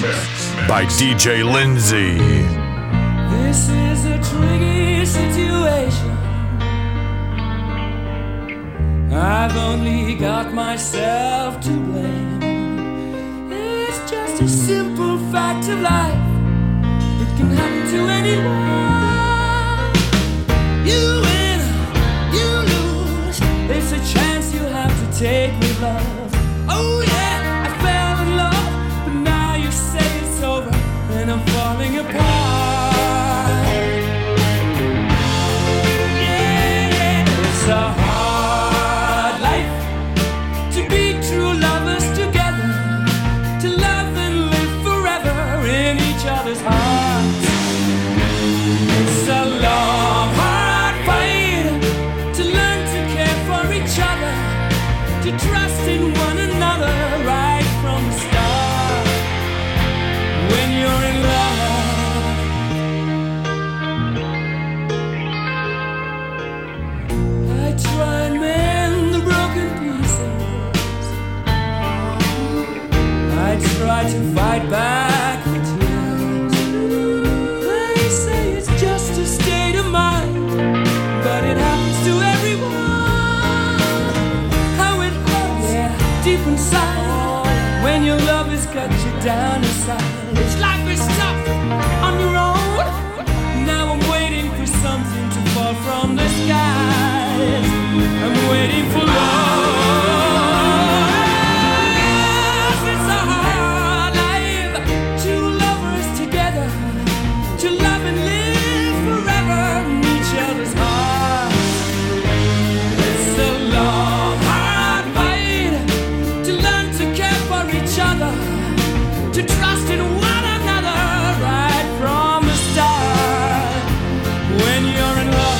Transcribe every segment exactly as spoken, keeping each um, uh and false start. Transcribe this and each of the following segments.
by D J Lindsay. This is a tricky situation. I've only got myself to blame. It's just a simple fact of life. It can happen to anyone. You win, you lose. It's a chance you have to take with love. Oh yeah, I fell in love, but now you say it's over and I'm falling apart. Yeah, yeah, it's a hard life to be true lovers together, to love and live forever in each other's hearts. It's a long, hard fight to learn to care for each other, to trust in one another right from the start. When you're in love, I try and mend the broken pieces. I try to fight back the tears. They say it's just a state of mind, but it happens to everyone. How it hurts, yeah, deep inside, when your love has cut you down inside. It's life is tough on your own. Now I'm waiting for something to fall from the skies. I'm waiting for love. Yes, it's a hard life. Two lovers together, to love and live forever in each other's hearts. It's a long, hard fight to learn to care for each other, to trust in one another right from the start. When you're in love,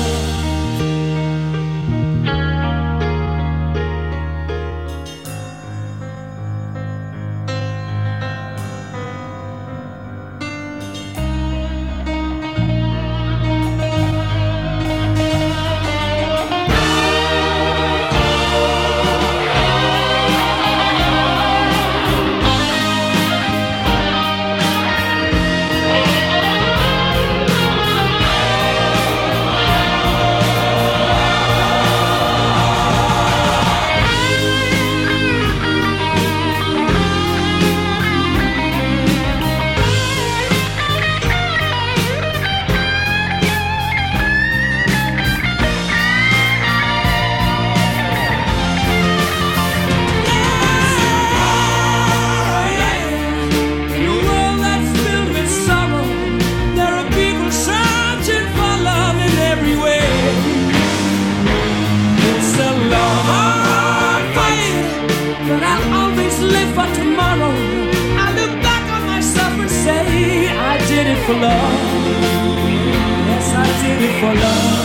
for love. Yes, I did it for love.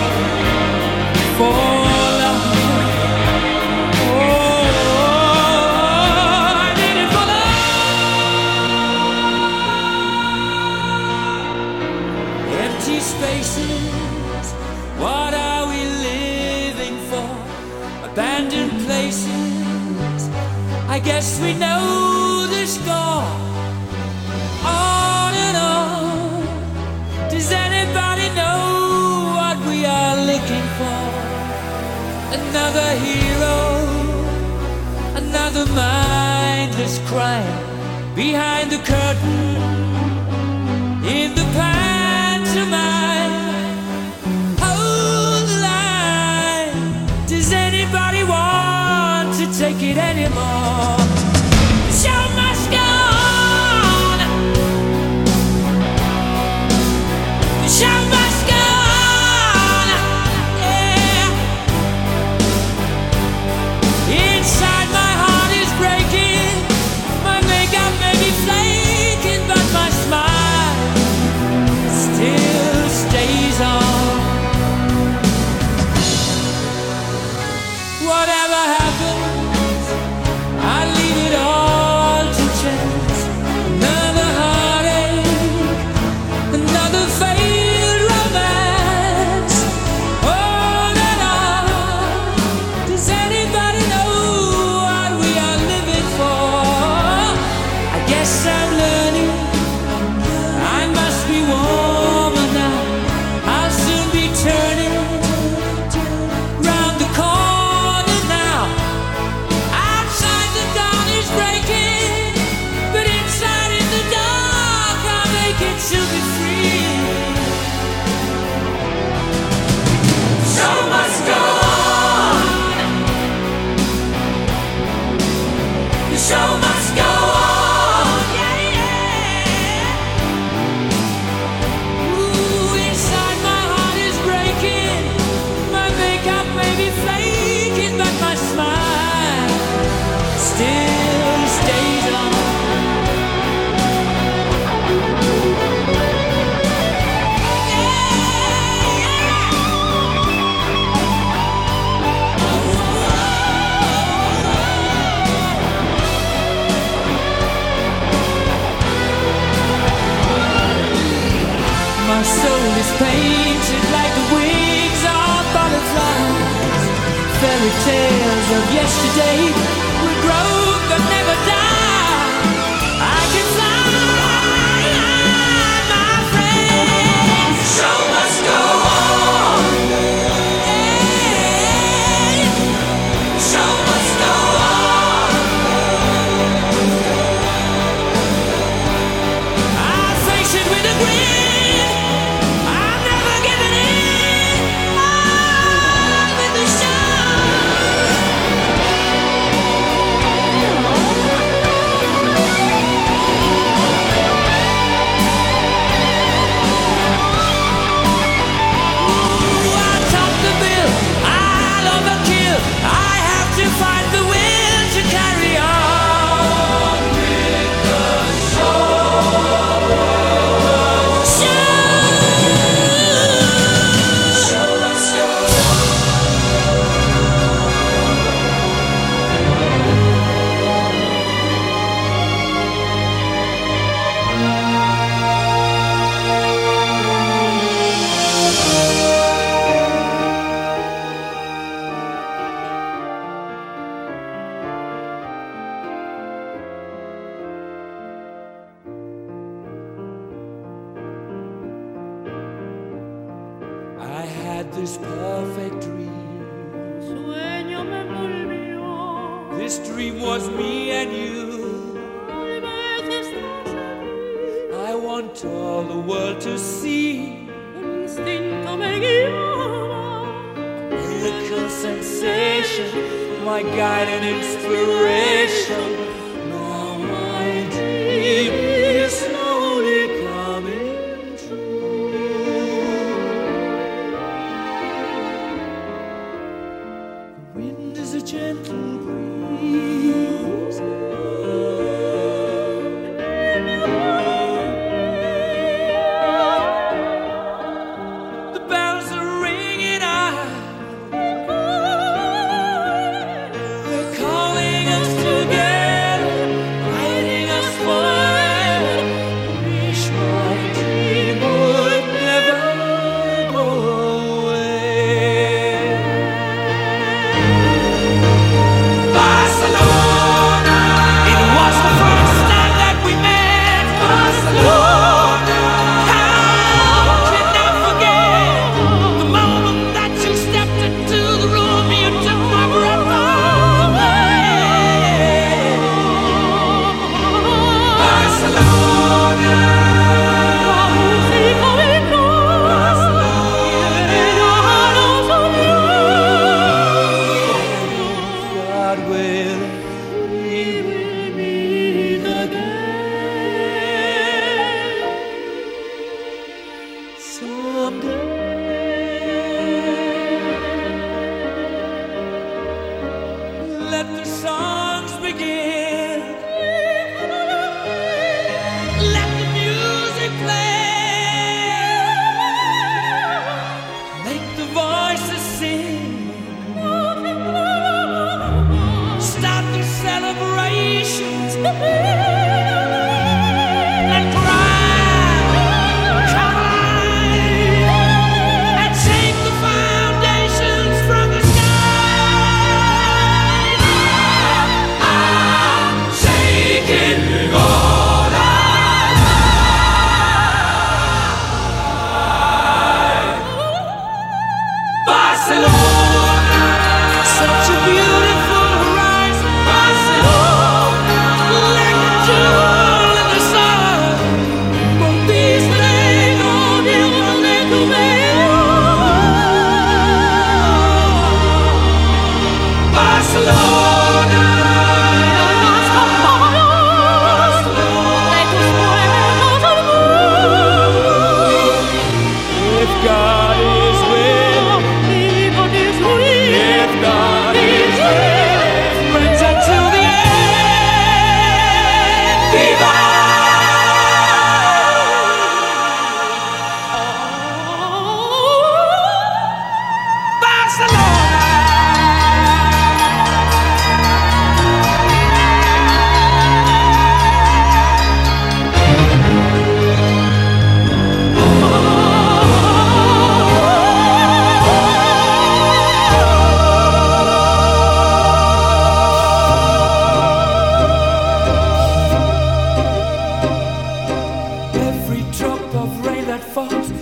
For love. Oh, I did it for love. Empty spaces, what are we living for? Abandoned places, I guess we know the score. Does anybody know what we are looking for? Another hero, another mindless crime behind the curtain, in the pantomime. Hold the line. Does anybody want to take it anymore? The show must go on. The show must go on, yeah. Inside my heart is breaking, my makeup may be flaking, but my smile is Yes, I'm learning. I must be warmer now. I'll soon be turning round the corner now. Outside the dawn is breaking, but inside in the dark I'll make it to be free. Show must go on. The show must go on. Yeah, yeah. Ooh, inside my heart is breaking. My makeup may be flaking, but my smile still stays on. My soul is painted like the wings of butterflies. Fairy tales of yesterday will grow but never die. I can fly, my friend. Show must go on. Hey, show must go on. I'll face it with a grin. I had this perfect dream. Sueño me envolvió. This dream was me and you. Tal vez estás aquí. I want all the world to see. El instinto me guiaba. Miracle sensation, my guide and inspiration. Now my dream is slowly coming true. The wind is a gentle breeze. The bells are ringing out. They're calling us together.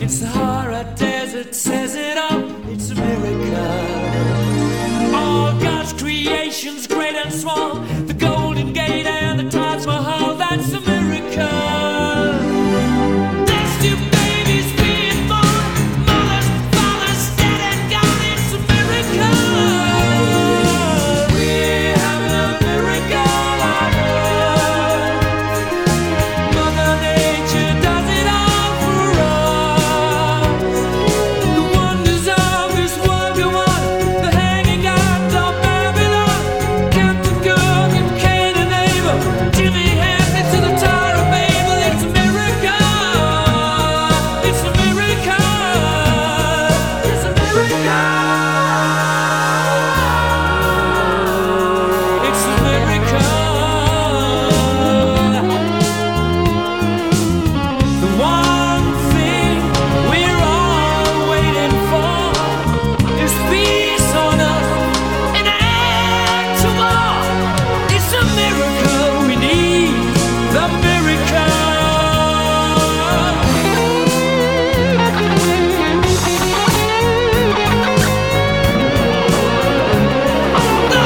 It's the Sahara Desert, says it all. It's a miracle. All God's creations, great and small. The Golden Gate and the Taj Mahal. That's a miracle. There's two babies being born. Mothers, fathers, dead and gone. It's a miracle. We're having a miracle on earth. Mother Nature does it all for us. The wonders of this world go on. The hanging out of Babylon. Captain Cook and Cain and Abel. Jimmy Hampton to the Tower of Babel. It's a miracle. It's a miracle. It's a miracle. It's a miracle. The one thing we're all waiting for is peace on earth and an end to war. It's a miracle we need, the miracle. The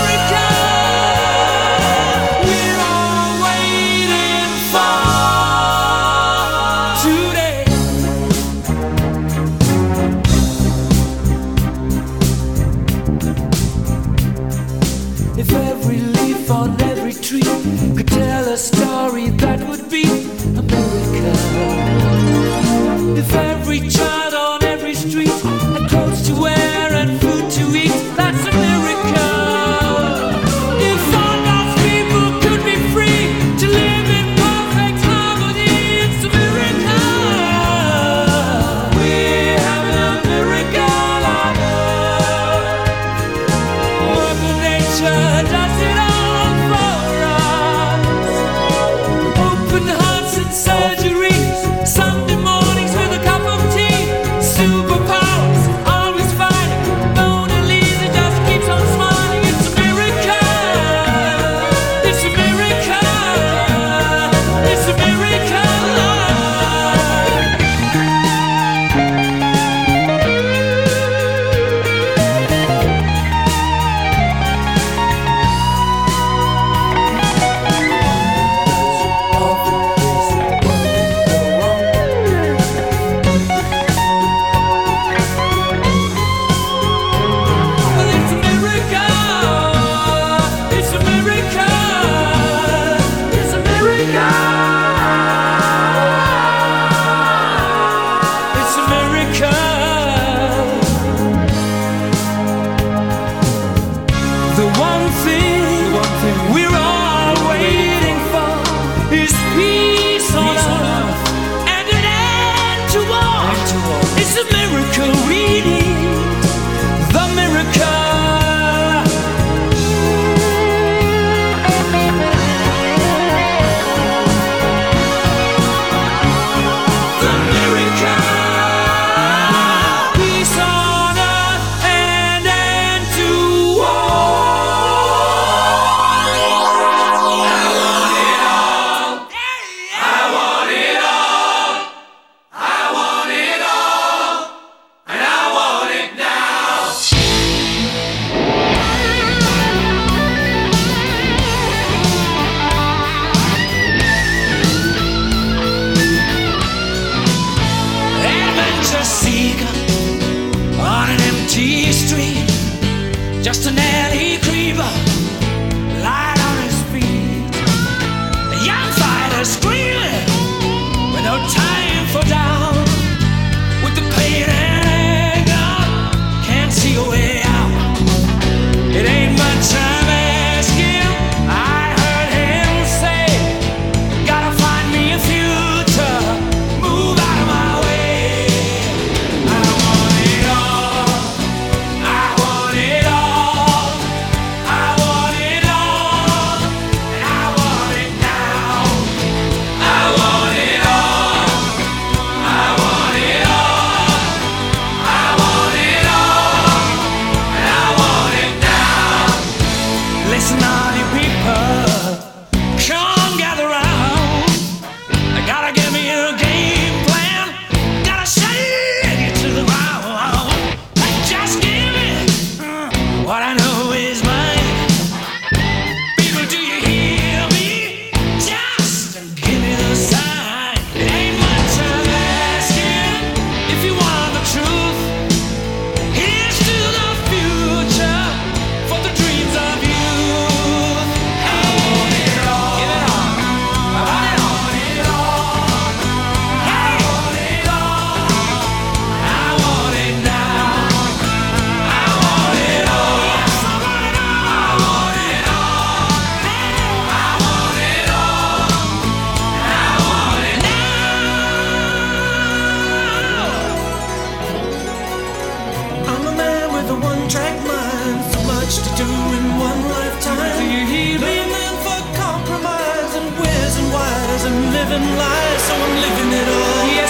miracle we're all waiting for today. If every leaf on every tree could tell a story, that would be a miracle. If every child on every street had clothes to wear and food to eat, that's a miracle. If all God's people could be free to live in perfect harmony, it's a miracle. We're having a miracle on earth. Mother Nature does it all for us. Open heart.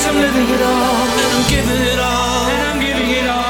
I'm living it all, and I'm giving it all, and I'm giving it all.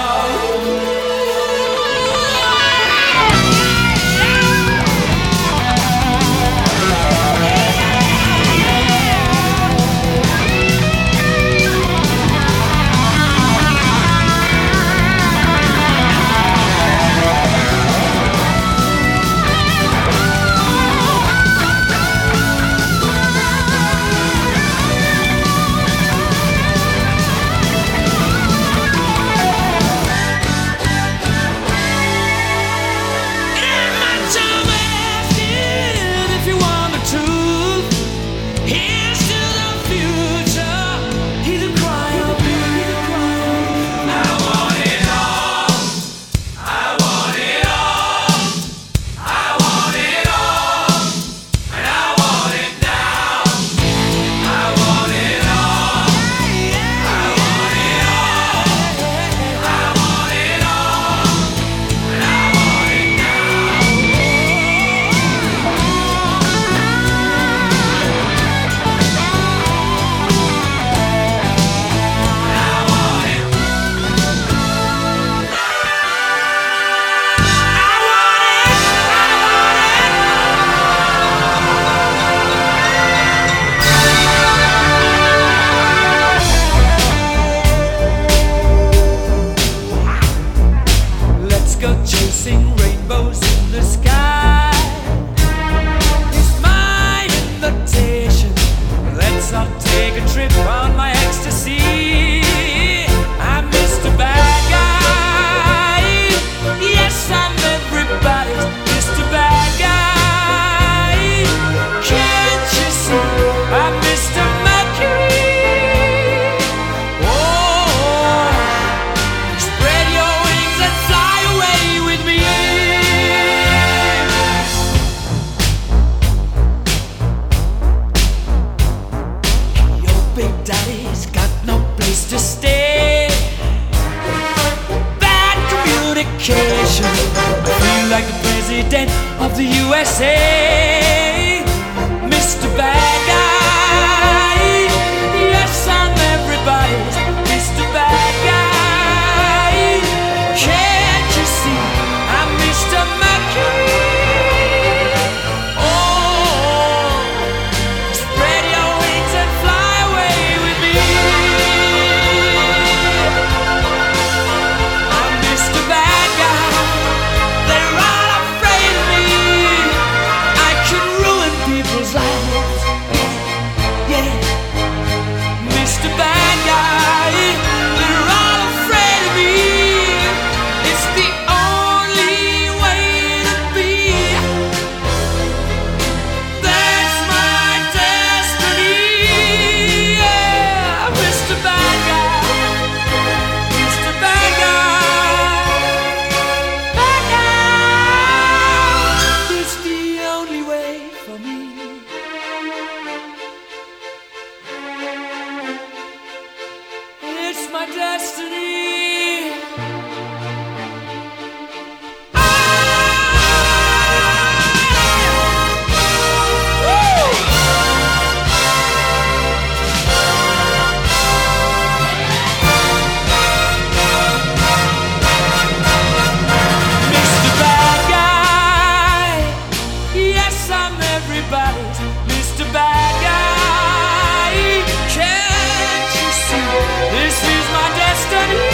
This is my destiny.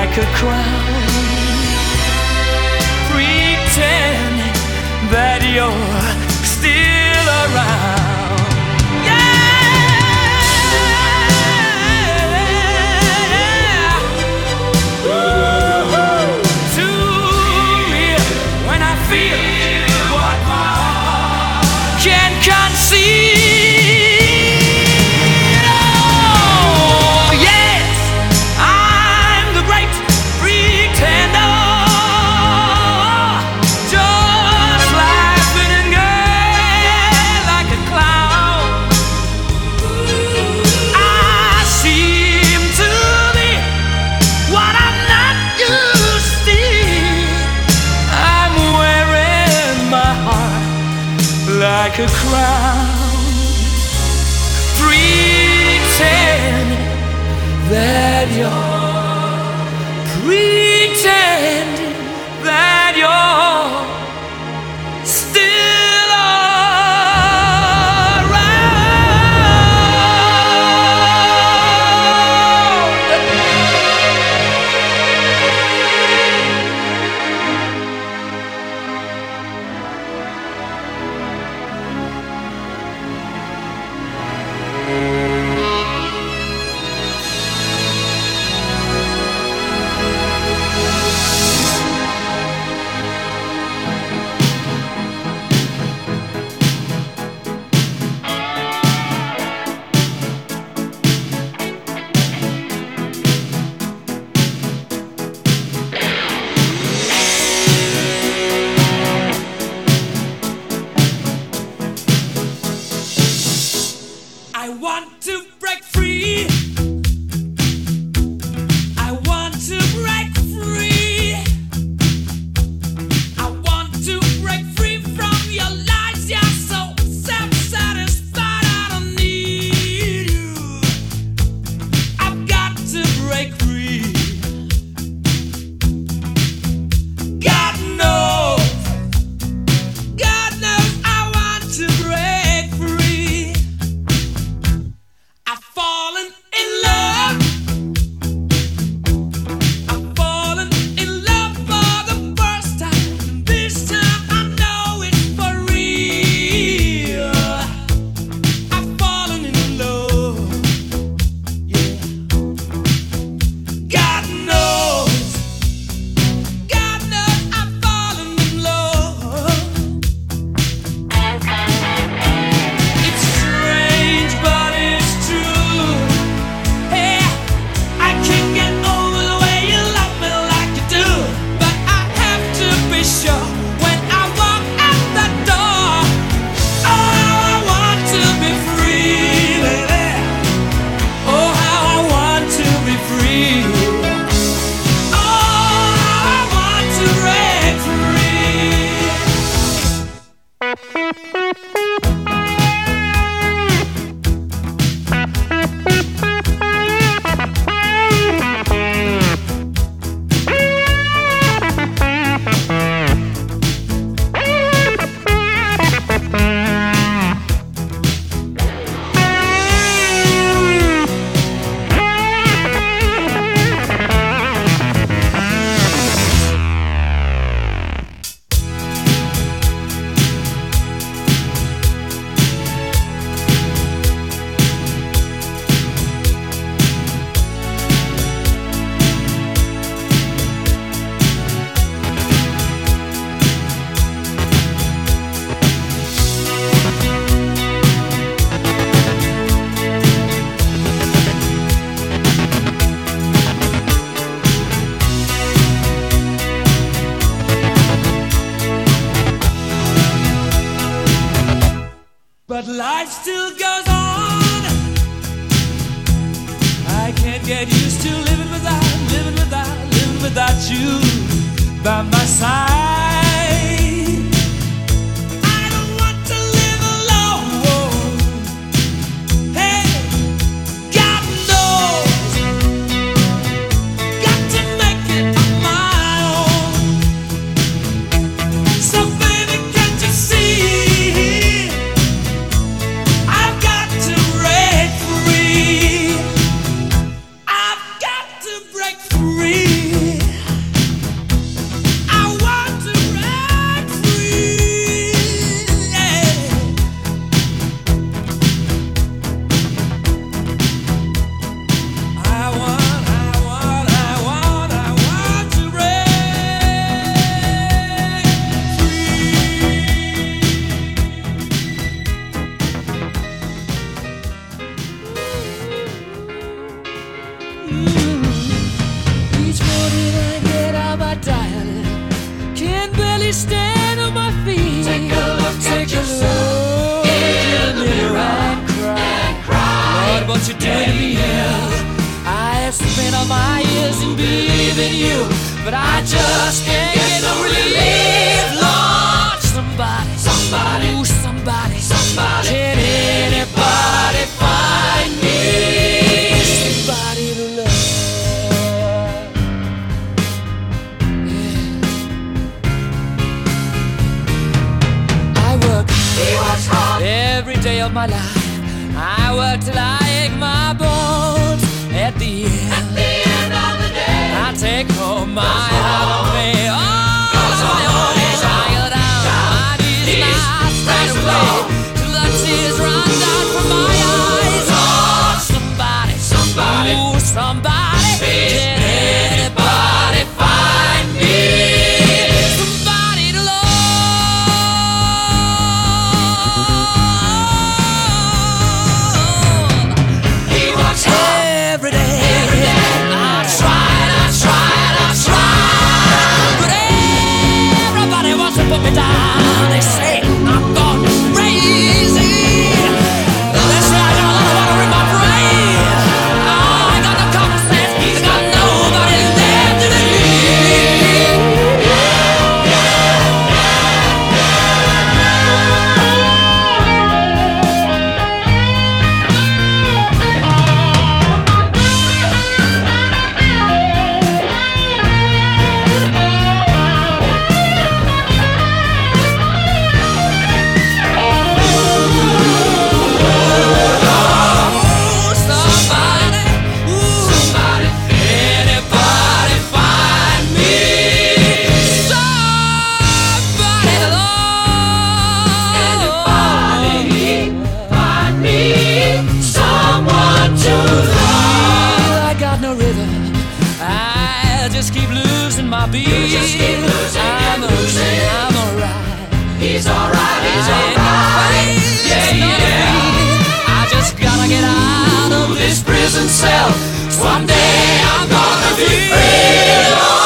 like a crown, pretending that you're still around. Yeah, ooh, to me when I feel what my heart can conceive. Oh yes, I'm the great pretender, just laughing and gay like a clown. I seem to be what I'm not, you see. I'm wearing my heart like a crown, pretending that you're, pretending that you're still I want to break free. I want to break free. I want to break free from your lies. You're so self-satisfied. I don't need you. I've got to break free. God knows, God knows I want to break free. I've fallen in love. I've fallen in love for the first time. This time I know it's for real. I've fallen in love. Yeah. God knows, God knows I've fallen in love. It's strange, but it's true. Hey, I can't get over the way you love me like you do. But I have to be sure when I walk out that door. Oh, how I want to be free, baby. Oh, how I want to be free. Oh, how I want to break free. But life still goes on. I can't get used to living without, living without, living without you by my side. I don't want to live alone. Hey, God knows, got to make it on my own. So baby, can't you see? I've got to break free. I've got to break free. what you're doing to me. I have spent all my years in believing you, but I just can't get no relief. Lord, somebody, somebody, ooh, somebody, somebody, can anybody find me somebody to love? Yeah. I work, he works hard every day of my life. I work till I ache my bones. At the end, at the end of the day, I take home my heart of me. Oh, my own tired out. My knees not straight away till the tears run down from my eyes. Oh, somebody, somebody, ooh, somebody, can anybody find me somebody to love? He works hard every day. Every day. I tried, I tried, I tried, but everybody wants to put me down. They say I'm gone crazy. They say I got a lot of water in my brain. I ain't got no common sense. I got nobody left to me. I'm losing, I'm alright. He's alright, he's alright. Yeah, yeah. I just gotta get out of this prison cell. Someday I'm gonna be free.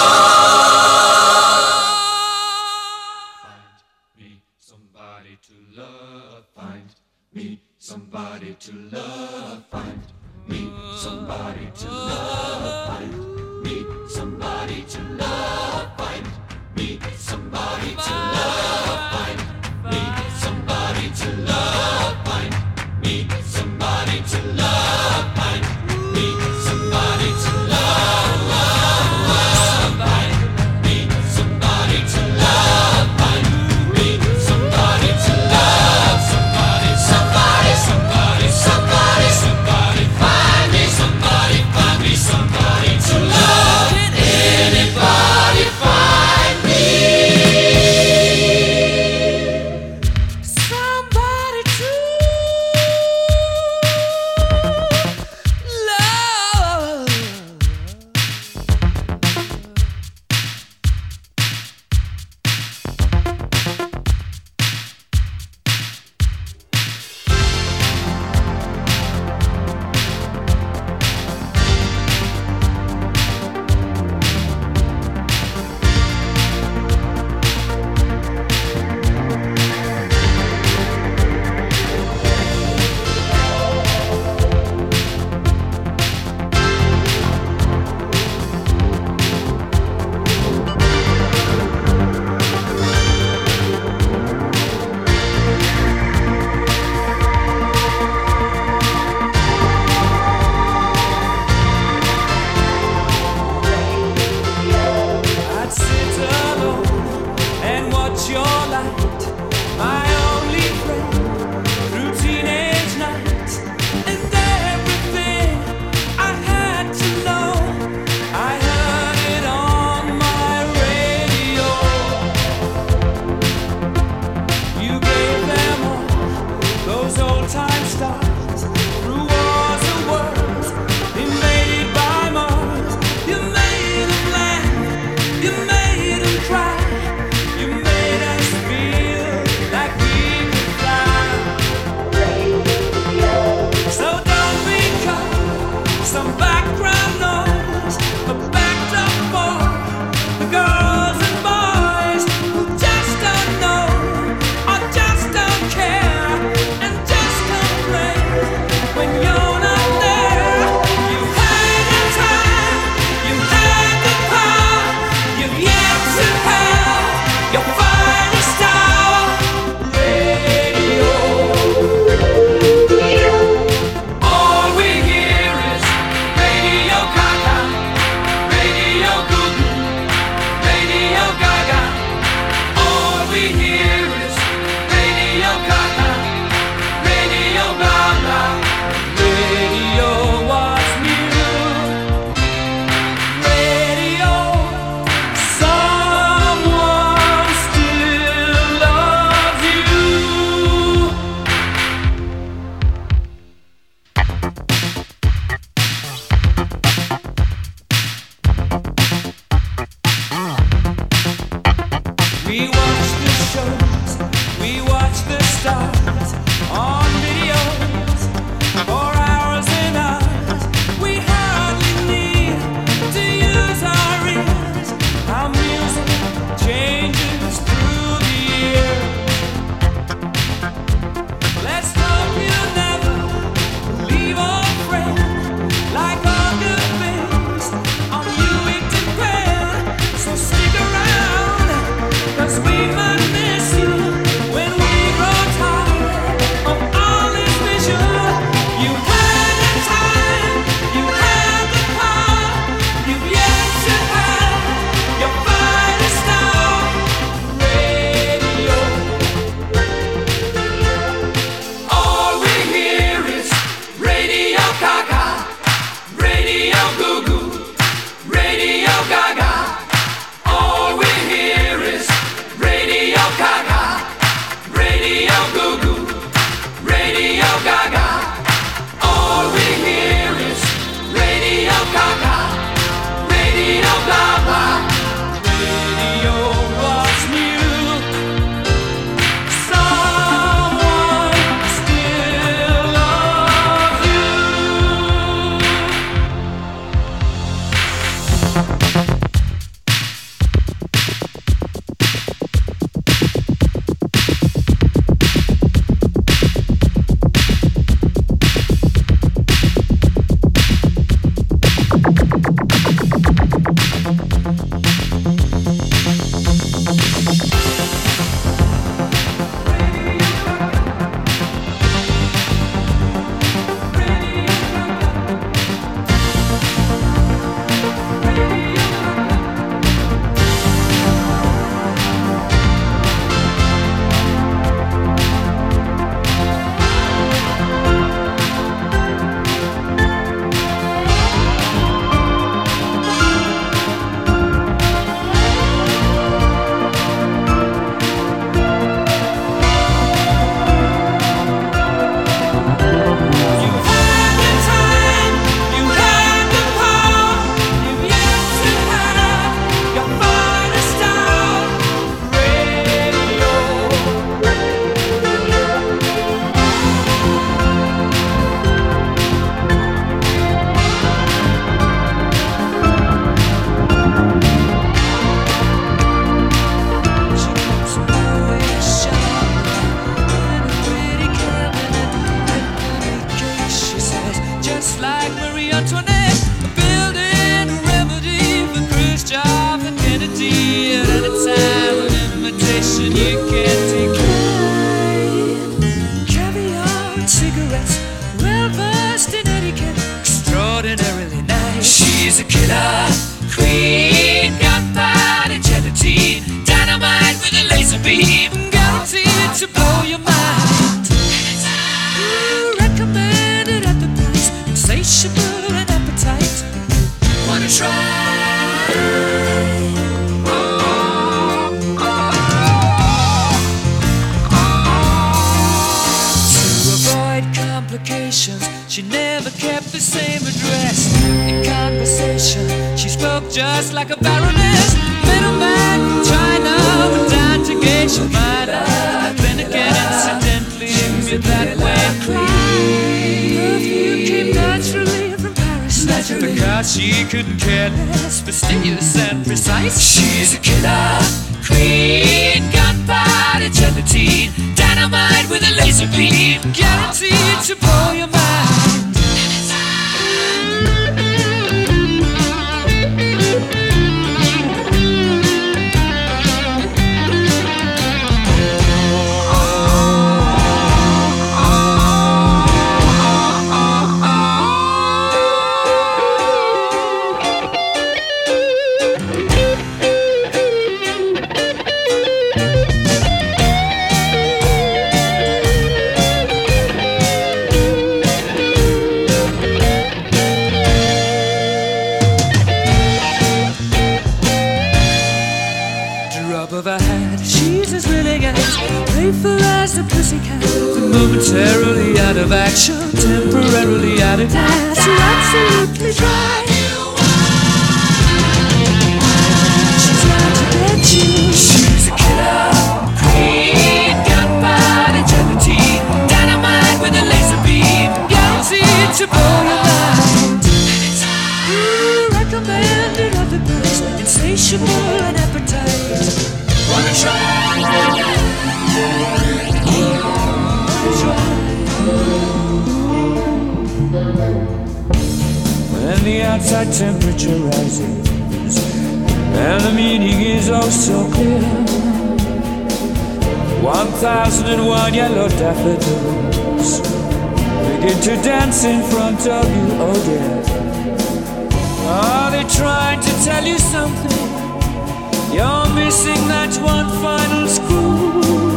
Find me somebody to love. Find me somebody to love. Find me somebody to love. Find me somebody to love. Find me somebody to love. Find me somebody to love. Find me somebody to love. Find me somebody to love. Find me somebody to love. Find me somebody to love. Somebody, somebody, somebody, somebody, somebody. Find me somebody, find me somebody to love. stars on videos for hours and hours. We hardly need to use our ears. Our music changes through the year. Let's hope you never leave a friend. Like all good things, on you it depends. So stick around, 'cause we might miss you when we grow tired of all this vision. You had the time, you had the power, you've yet to have your finest hour. Radio, all we hear is Radio Gaga, Radio Goo Goo, Radio Gaga. All we hear is Radio Gaga, Radio Goo Goo, Radio Gaga. All we hear is Radio Gaga, Radio Gaga. Radio was new. Someone still loves you. You had the time, you had the power, you've yet to have your finest hour. Radio. She keeps always sharp in a pretty cabinet. Ebony cake, she says, just like Marie Antoinette. Building a remedy for Khrushchev and Kennedy. At any time, an invitation you can't decline. Caviar and cigarettes, well versed in etiquette, extraordinarily nice. She's a killer queen, gunpowder gelatine, dynamite with a laser beam, guaranteed to blow your mind. Ooh, recommended at the price, insatiable and appetite. Wanna try? To avoid complications, she never kept the same address. In conversation, she spoke just like a baroness. Middleman from China went down to Geisha Minor. Then again, incidentally, me that way. Perfume came naturally from Paris. Because she couldn't care less, fastidious and precise. She's a killer queen, gunpowder gelatine, dynamite with a laser beam, guaranteed to blow your mind. Playful as a pussycat, momentarily out of action, temporarily out of gas. You're absolutely dry. She's out to get you. She's a killer queen, gunpowder gelatine. and the outside temperature rises, and the meaning is oh so clear. One thousand and one yellow daffodils begin to dance in front of you, oh dear. Are they trying to tell you something? You're missing that one final screw.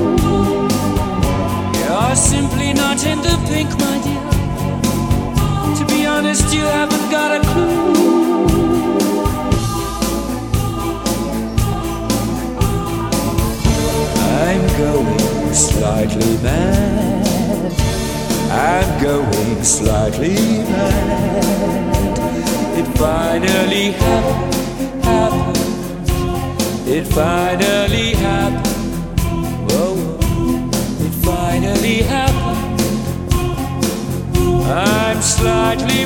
You're simply not in the pink, my dear. To be honest, you haven't got a clue. I'm going slightly mad. I'm going slightly mad. It finally happened, happened. It finally happened. Whoa, whoa. It finally happened. I'm slightly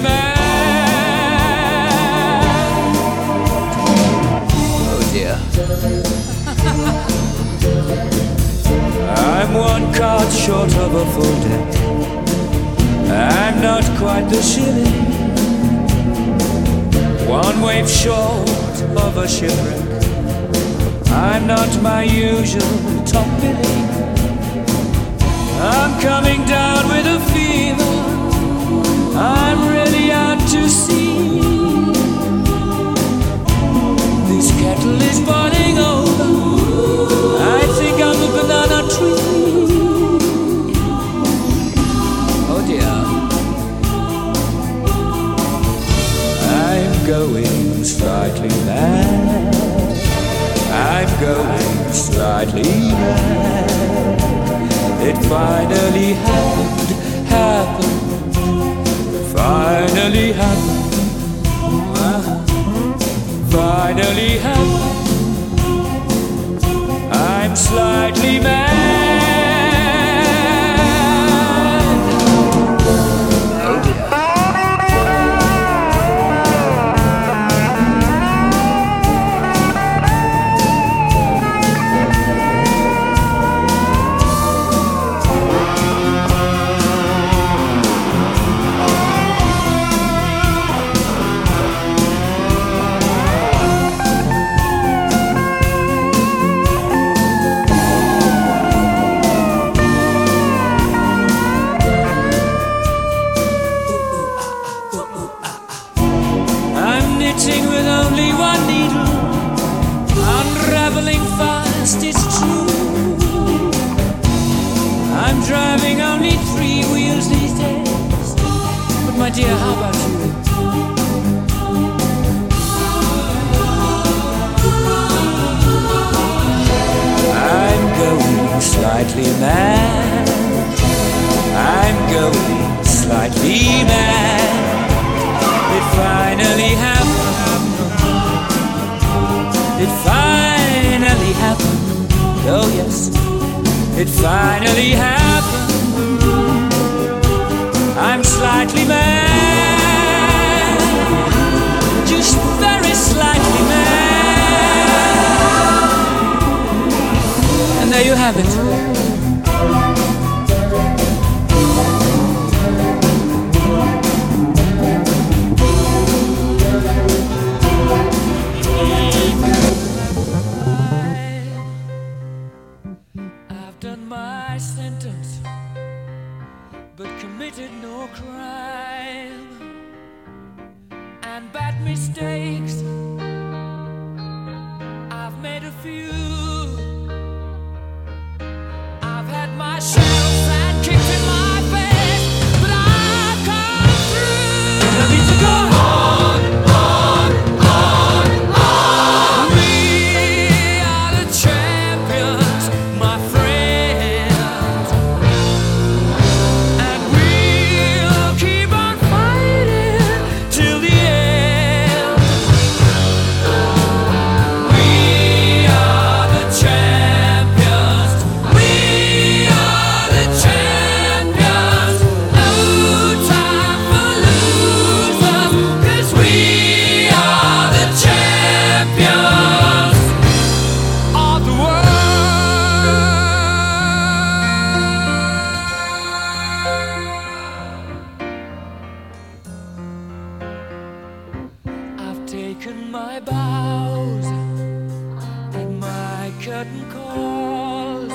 mad. Oh dear. I'm one card short of a full deck. I'm not quite the shilling. One wave short of a shipwreck. I'm not my usual top billing. I'm coming down with a fever. I'm really out to sea. This kettle is boiling over. I think I'm a banana tree. Oh dear. I'm going slightly mad. I'm going slightly mad. It finally happened, happened. Finally happened. Uh-huh. Finally happened. I'm slightly mad. With only one needle, unraveling fast, it's true. I'm driving only three wheels these days. But my dear, how about you? I'm going slightly mad. I'm going slightly mad. It finally happened. It finally happened. Oh yes, it finally happened. I'm slightly mad. Just very slightly mad. And there you have it. Committed no crime and bad mistakes. I've made a few. I've had my shells and kicked in my face, but I've come through. I need to go on, on, on, on. We are the champions, my friends. my bows and my curtain calls.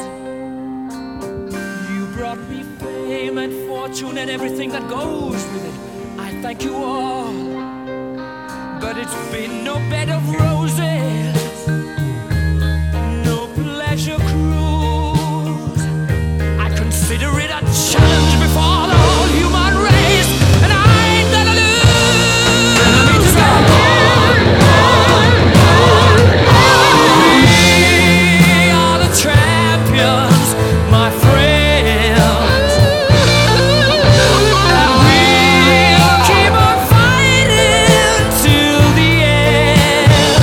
You brought me fame and fortune and everything that goes with it. I thank you all, but it's been no bed of roses, no pleasure cruise. I consider it a challenge before the whole human race, and I ain't gonna lose. And I mean to go on, on, on. We are the champions, my friends, and we'll keep on fighting till the end.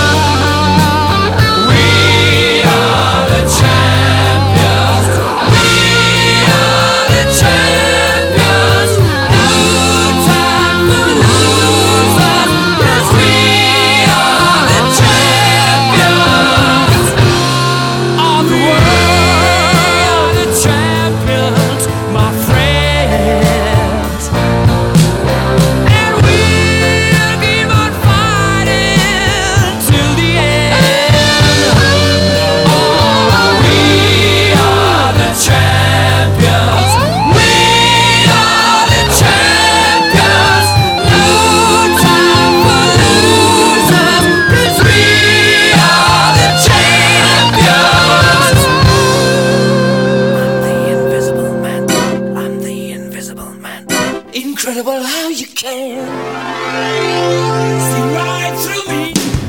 We are the champions. We are the champions. No time for losers, 'cause we are the champions of the world. The champions, my friends. And we'll keep on fighting till the end. Oh, we are the champions. We are the champions. No time for losers, 'cause we are the champions. I'm the invisible man. I'm the invisible man. Incredible how you can see right through me.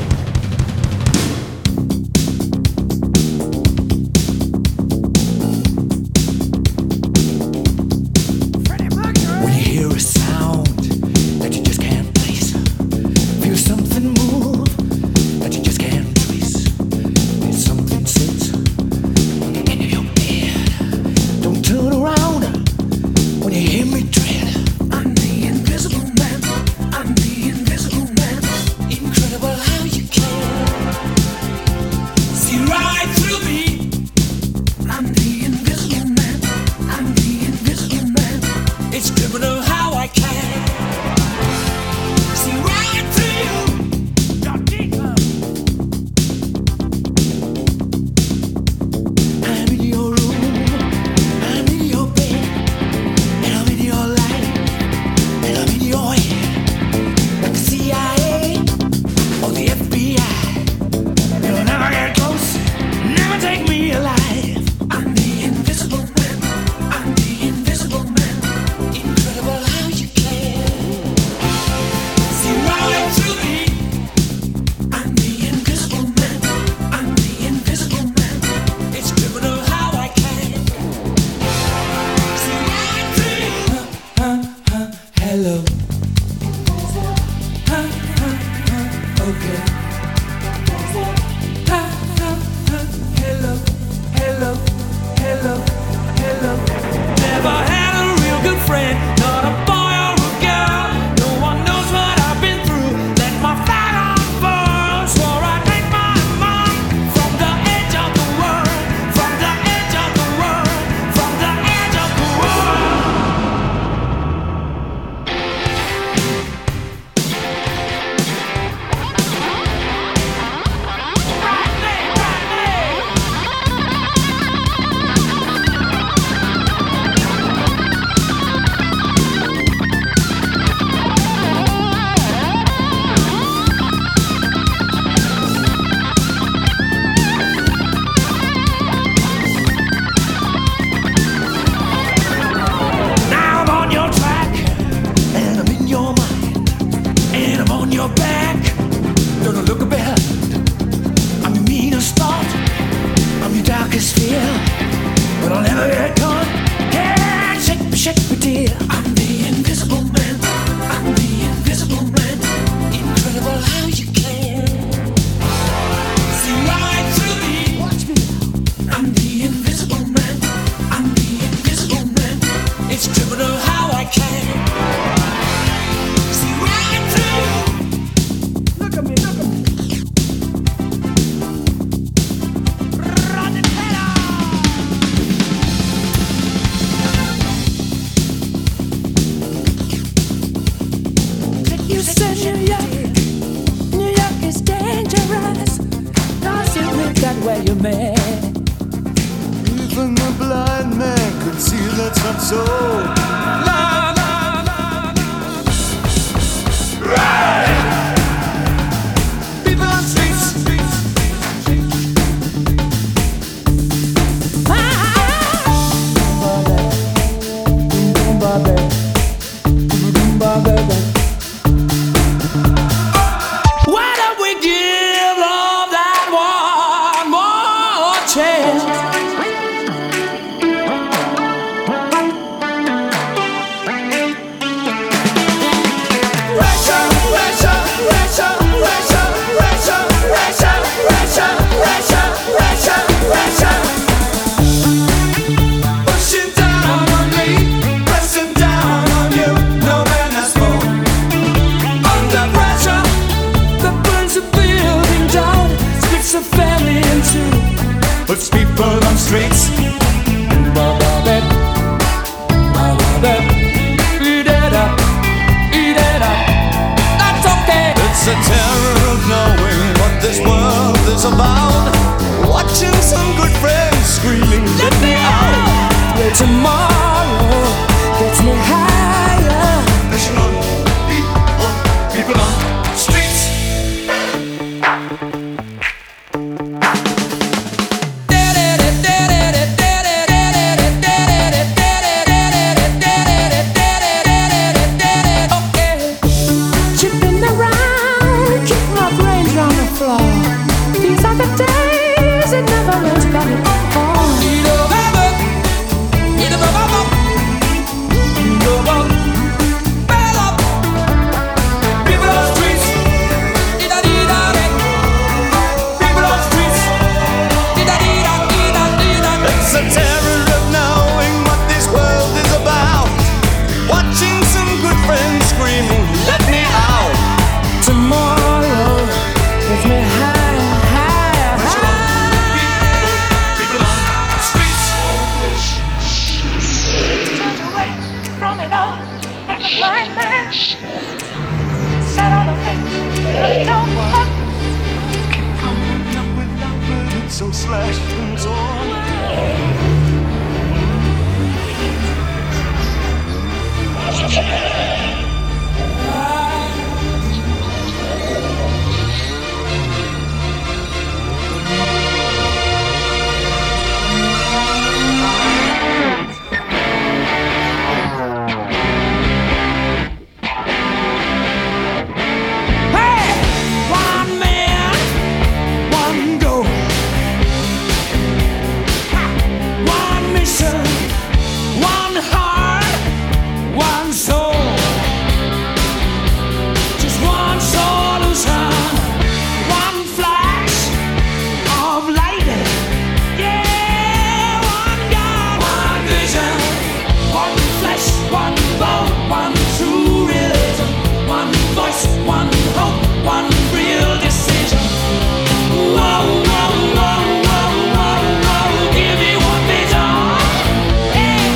When you hear a sound that you just can't place, feel something move that you just can't trace, feel something sit in your head. Don't turn around when you hear me tread. I'm the invisible man. you man. Even the blind man could see that's not so. La la la la. Right. People on streets. Why don't we give love that one more chance? Russia, Russia, Russia, Russia, Russia, Russia, Russia, Russia, Russia, Russia. Pushing down on me, pressing down on you. No man has more. Under pressure That burns a building down, splits a family in two. puts people on streets. Eat it up, eat it up. That's okay. It's a terror of knowing what this world is about. Watching some good friends screaming, let me out. Where tomorrow gets me higher. Pushing on, people, people on streets. Chipping around, keep my brains on the floor. These are the days it never ends about it all. Eat a bubble, eat a bubble, eat a bubble, bubble. People on streets. Eat a eat a People on streets. eat a eat a eat a eat a. It's a terror of knowing what this world is about. Watching some good friends screaming, let me out. Tomorrow gets me higher, higher, higher. People on streets. Turned away from it all, like a blind man. Sat on a fence, looked over. Up with number, it's so slashed and torn. Hey, one man, one goal, one mission, one heart, one soul. Just one solution, one flash of light. Yeah, one God, one vision, one flesh, one bone, one true religion, one voice, one hope, one real decision. Whoa, whoa, whoa, whoa, whoa, whoa, give me one vision. Yeah.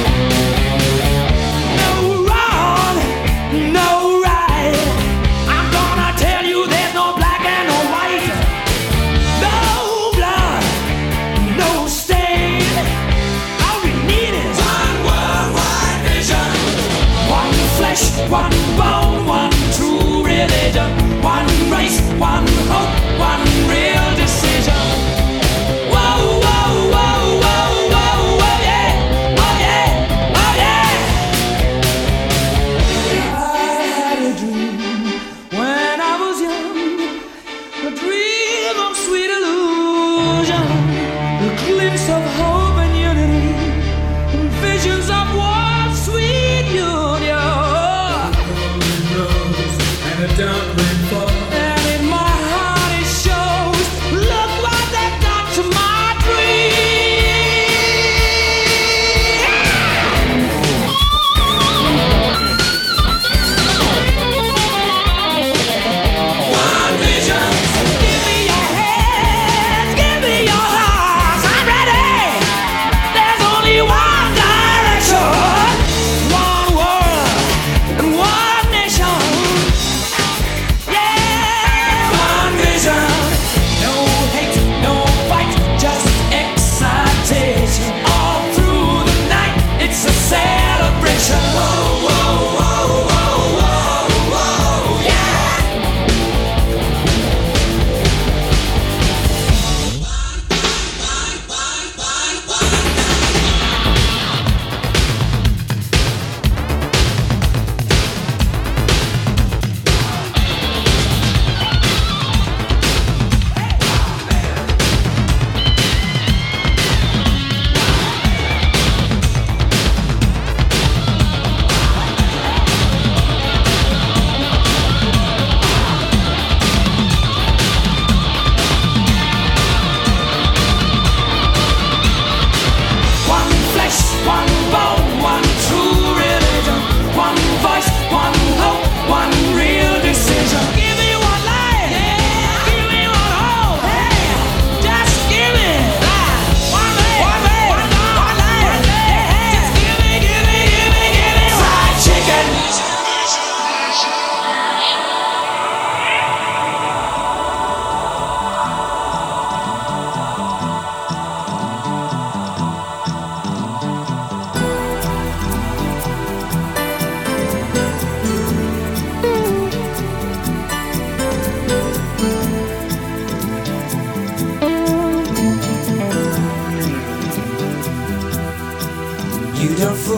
No wrong, no right. I'm gonna tell you there's no black and no white. No blood, no stain. All we need is one worldwide vision. One flesh, one bone, one true religion. One race, one hope, one real decision. Whoa, whoa, whoa, whoa, whoa, whoa, yeah. Oh yeah, oh yeah. I had a dream when I was young, a dream of sweet illusion, a glimpse of hope and unity, and visions of one sweet union. And in my heart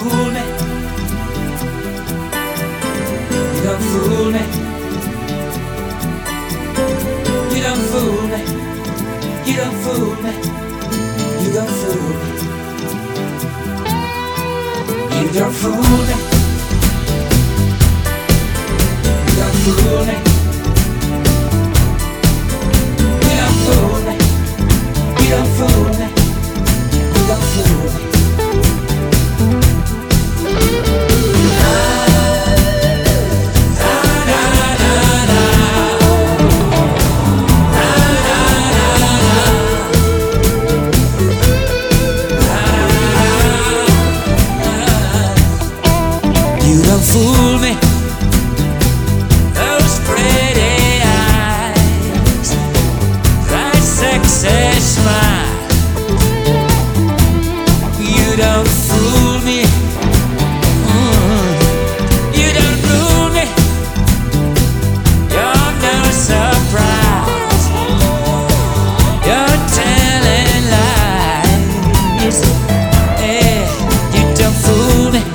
fool me. You don't fool me. You don't fool me. You don't fool me. You don't fool me. You don't fool me. You don't fool me. You don't fool me. You don't fool me. You don't fool me. Fool me, those pretty eyes, that sexy smile. You don't fool me, mm. You don't fool me. You're no surprise. You're telling lies. Yeah, you don't fool me.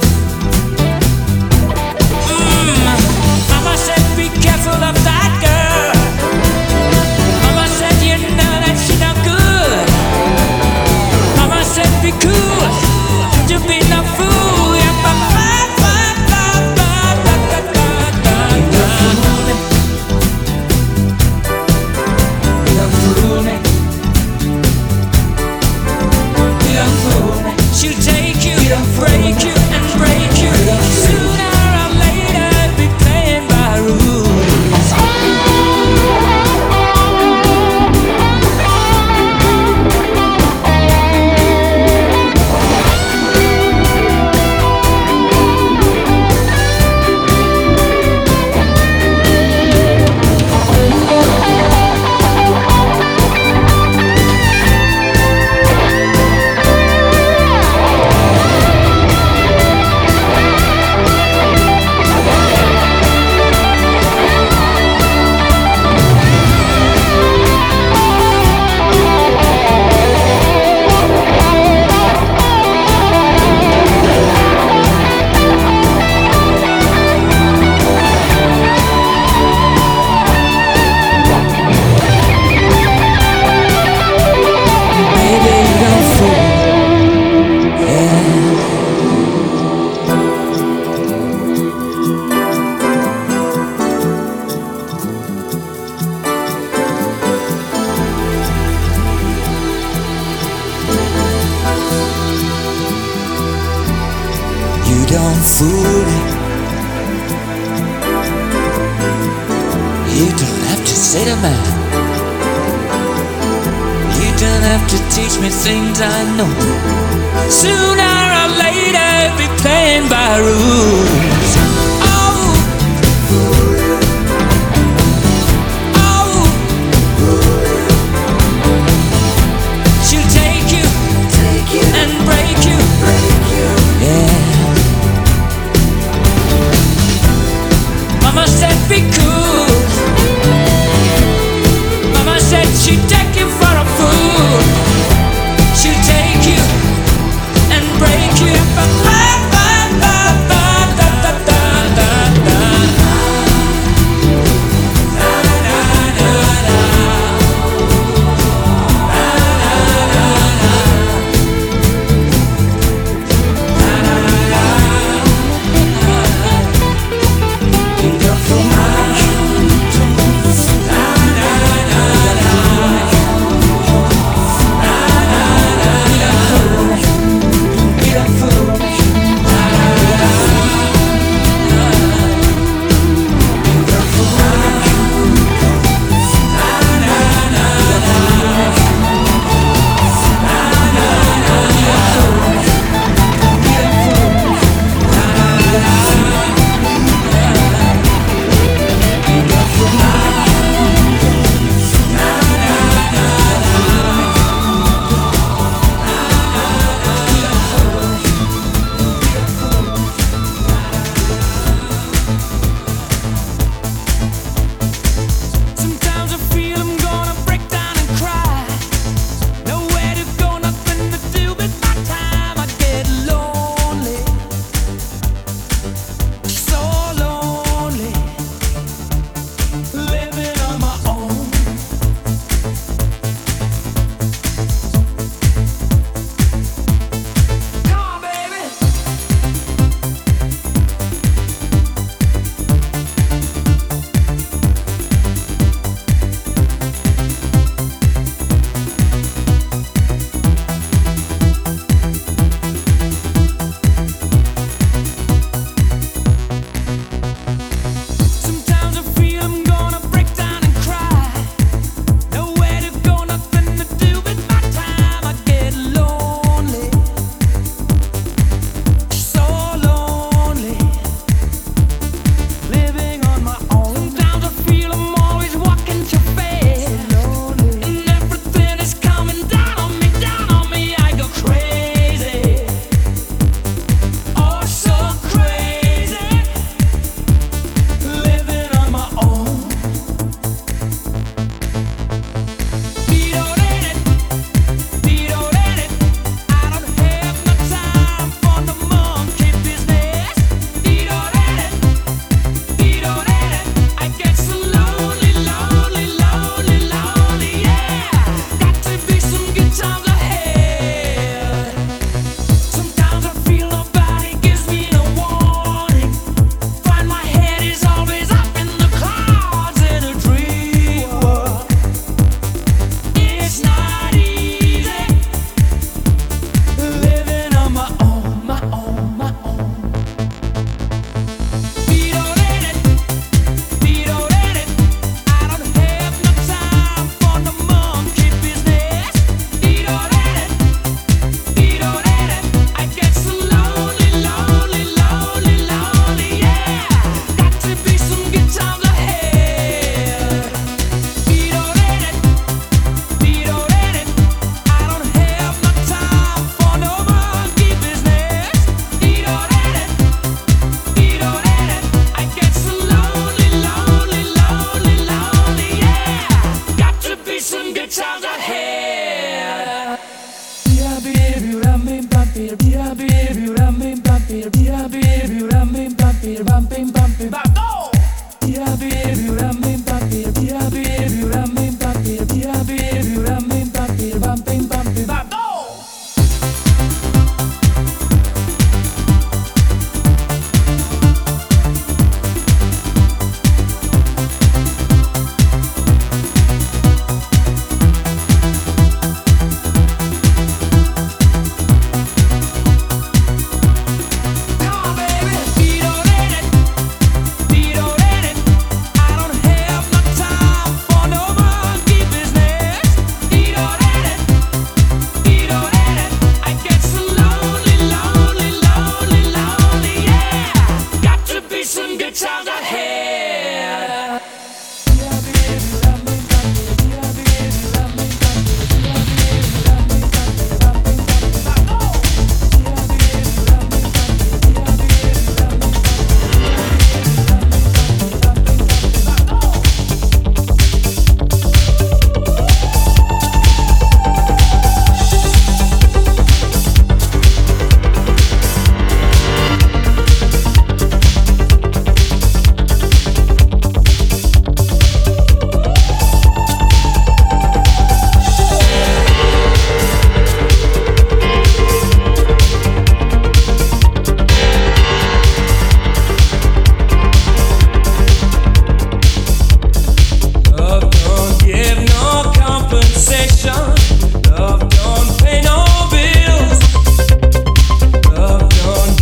Don't fool me. You don't have to say to man. You don't have to teach me things I know. Sooner or later, be playing by rules. Oh, oh, she'll take you, take you and break you, break you. Yeah. Mama said be cool. Mama said she'd take you for a fool. She'll take you and break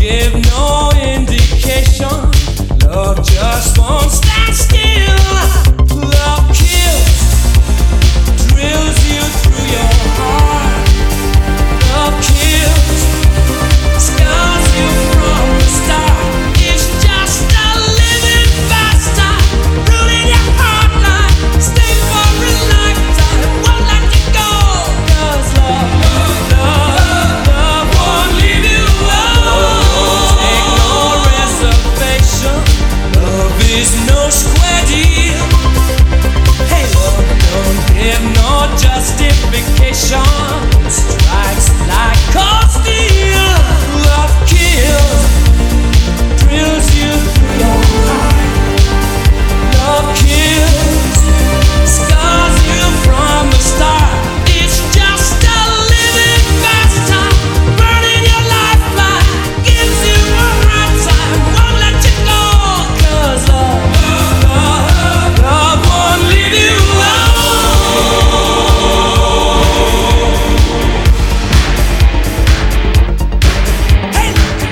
give no indication. Love just won't stand still. Love kills, drills you through your heart. Love kills, scars you from the start. It's just a living bastard, ruling your heart like stay for a lifetime, won't let you go. 'Cause love, love, love won't leave you alone. Take no reservation. Love is no square deal. Hey, love don't give no justification. Strikes like cold steel. Love kills, drills you through your heart. Love kills, scars you from the start. It's just a living bastard, burning your lifeline, gives you a hard time, won't let you go. 'Cause love, love, love won't leave you alone. Hey,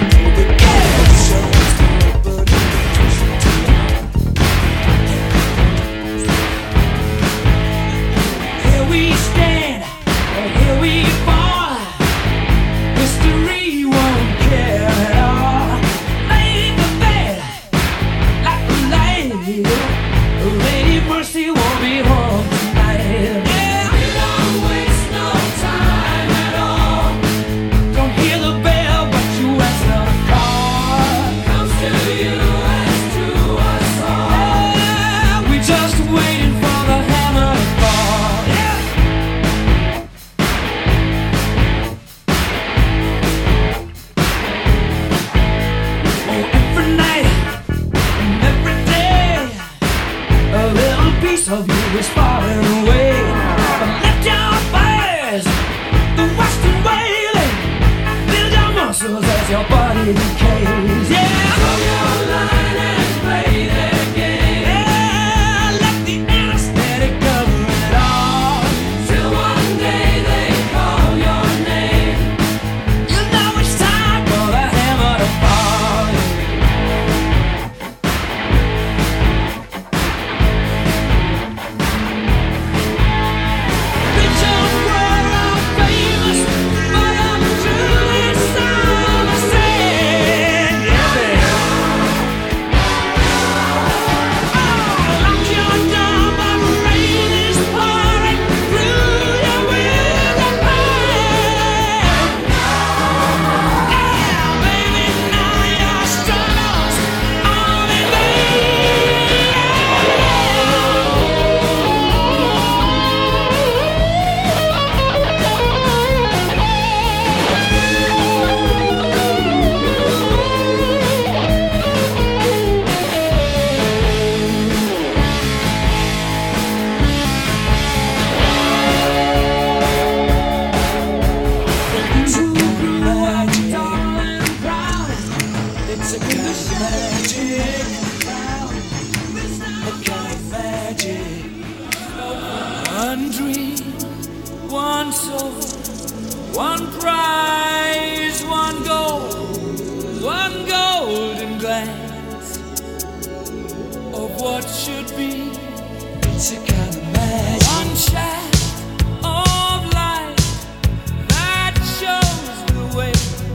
here we stand, and here we fall. History won't care at all. Make the bed like a lady. Lady Mercy won't be home tonight. Yeah, we don't waste no time at all. Don't hear the bell, but you answer the call. Comes to you as to us all. Yeah, we just waiting for the hammer to fall. Yeah. Oh, every night and every day, a little piece of you is falling away. But lift your fires, the western wailing, build your muscles as your body decays. Yeah, throw your line and play their game. Yeah, let the anesthetic cover it all. Till one day they call your name. You know it's time for the hammer to fall. Bitch, I'm world I'm famous, but I'm truly sound ascend. Yeah, baby. Oh, lock your door, but rain is pouring through your window pane. Yeah, baby, now your struggles are in it's a kind of magic, a kind of magic. One dream, one soul, one prize, one goal, one golden glance of what should be. It's a kind of magic. One shaft of light that shows the way.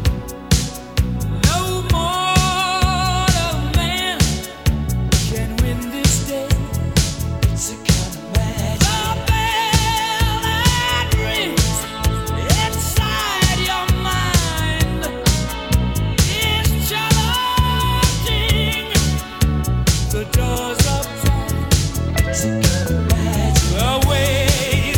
No mortal man can win this day. It's a kind of magic. The bell that rings inside your mind is challenging the doors of time. It's a kind of magic. The way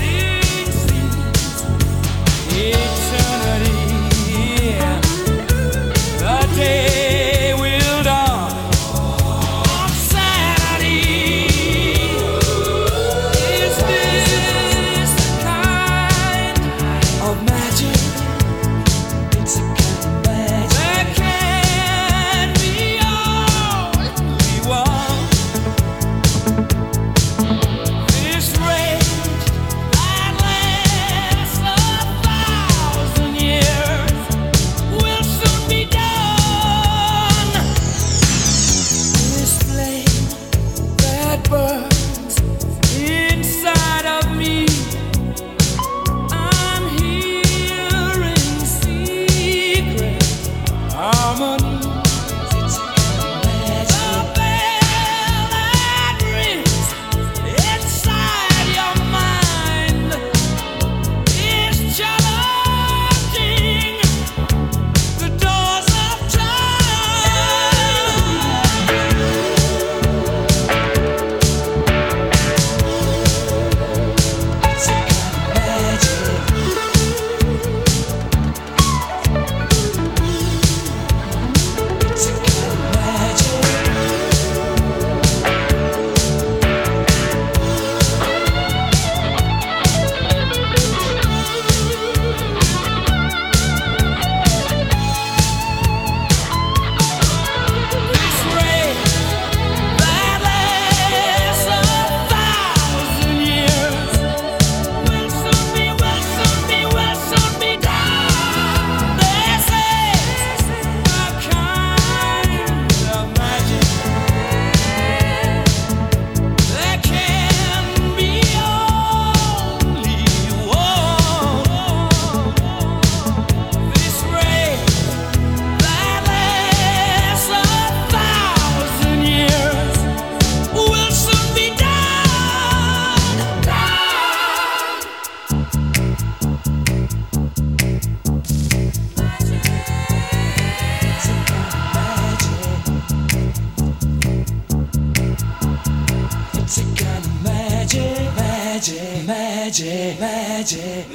magic, magic, magic,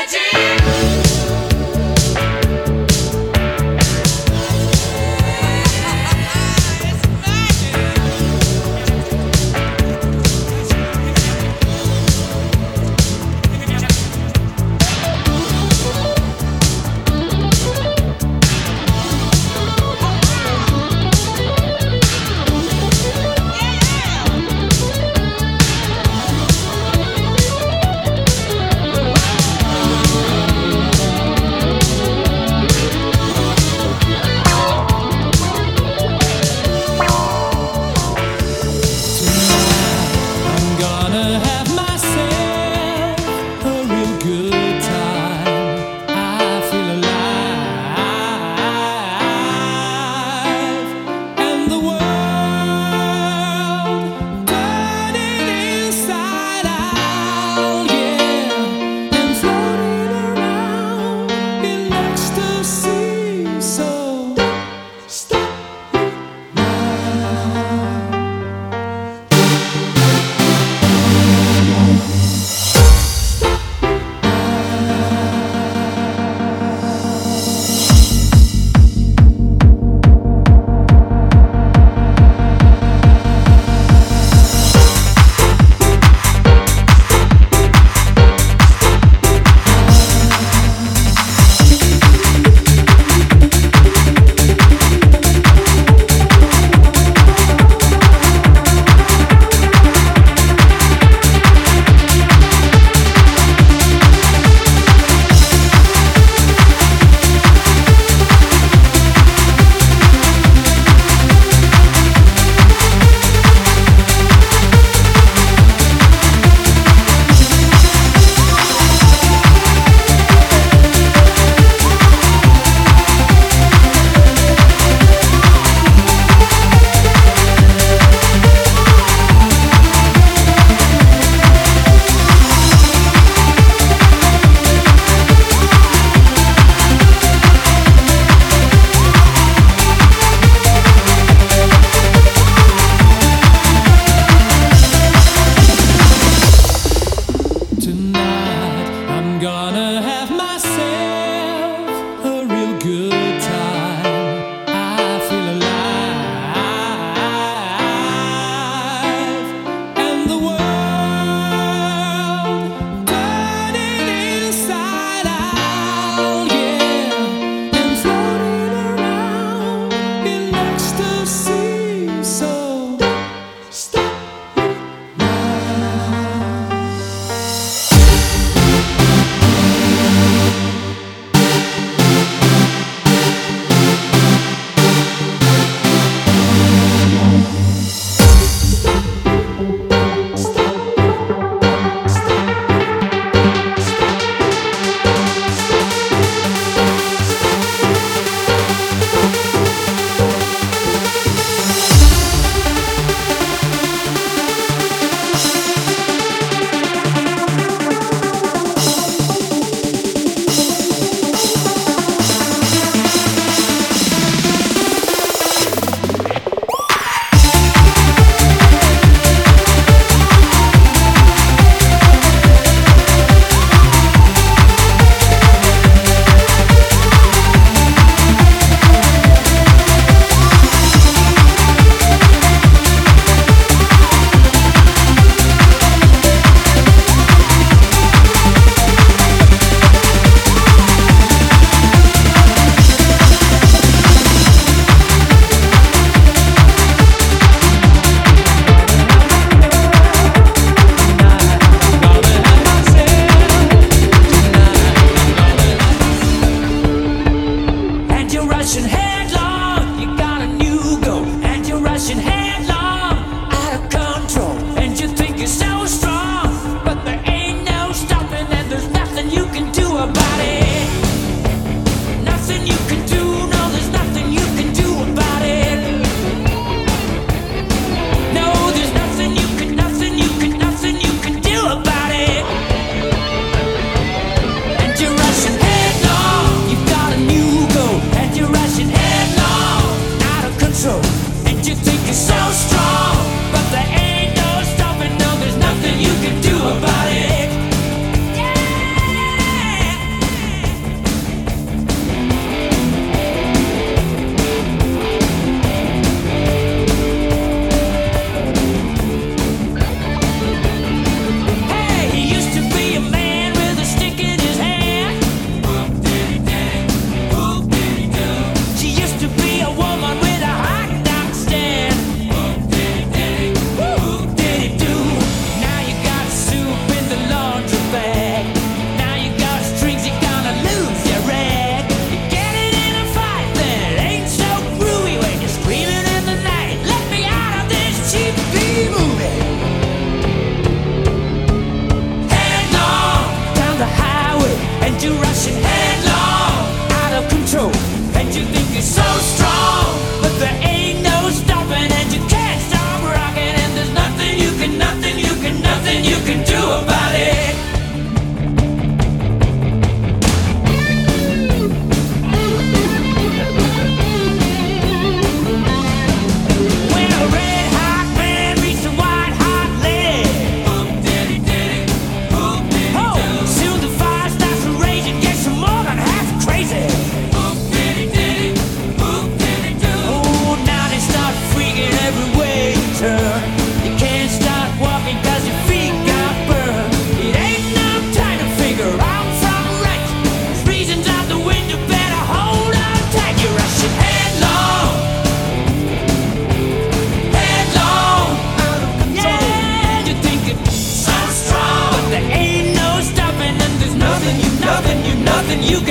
magic. so strong, but there ain't no stopping. No, there's nothing you can do about it.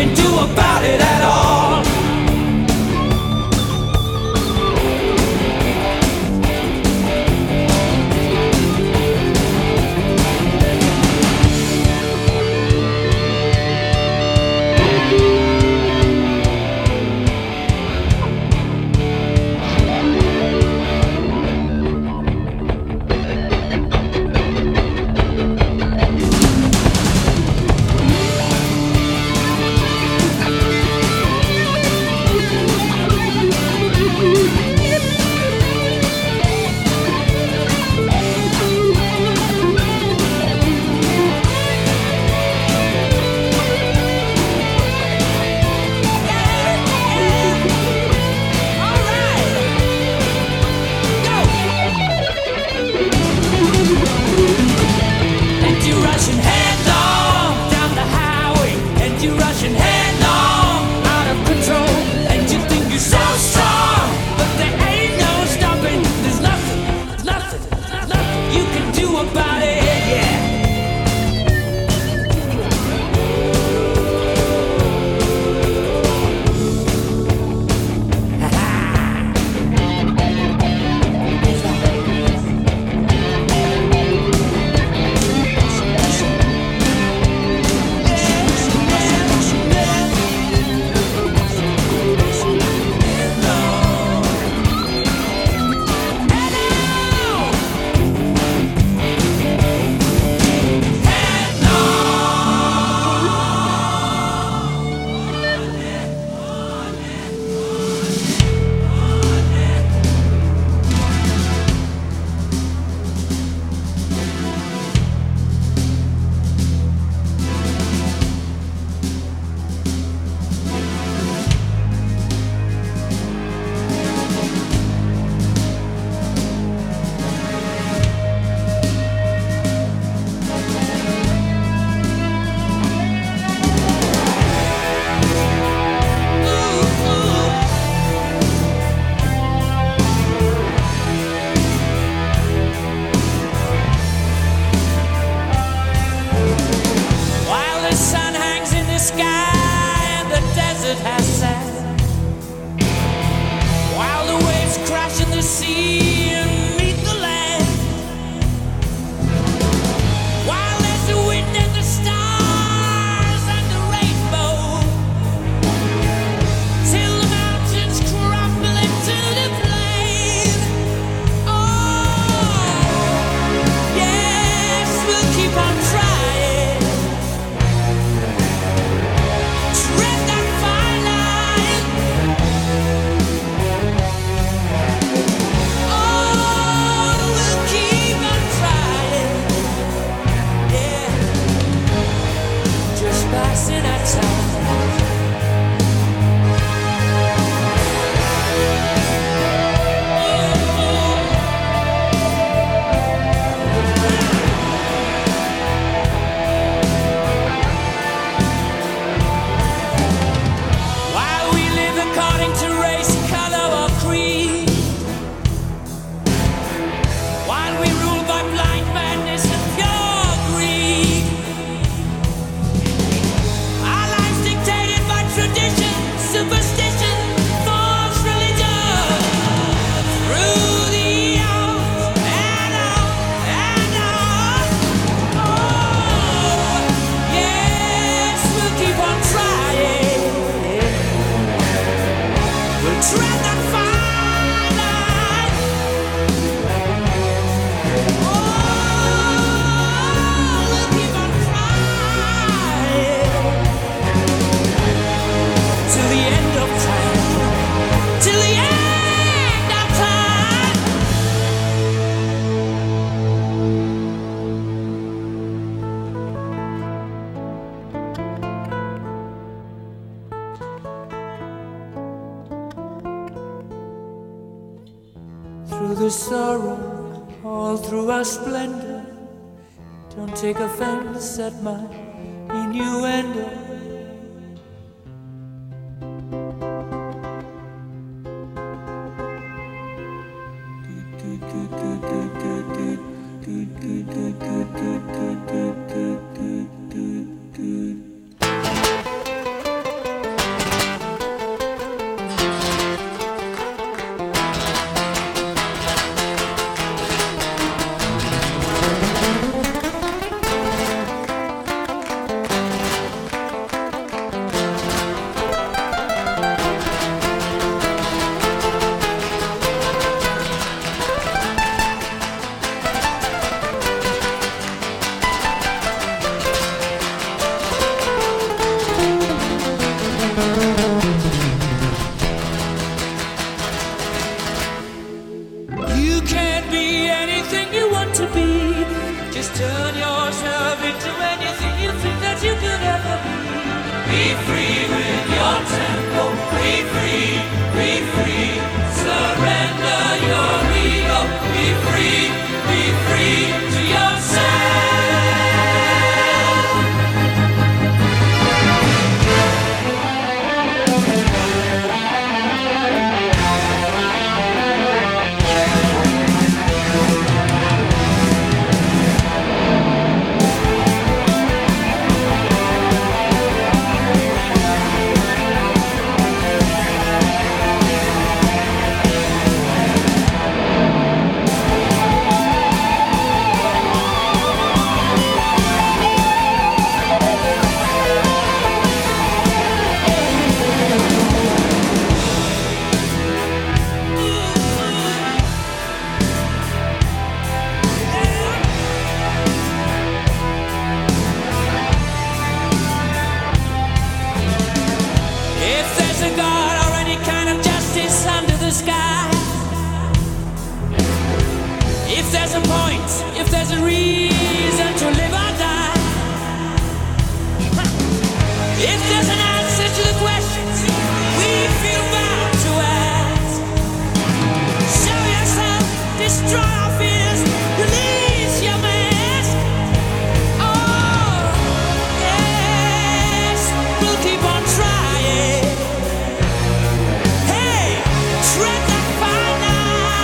can do about it at all. Through the sorrow, all through our splendor, don't take offense at my innuendo. meant to be. Just turn yourself into anything you think that you could ever be. Be free with your tempo. Be free, be free. Surrender your ego. Be free, be free to yourself. If there's a point, if there's a reason to live or die, if there's an answer to the questions we feel bound to ask, show yourself, destroy our fears, release your mask. Oh, yes, we'll keep on trying. Hey, tread that fine line.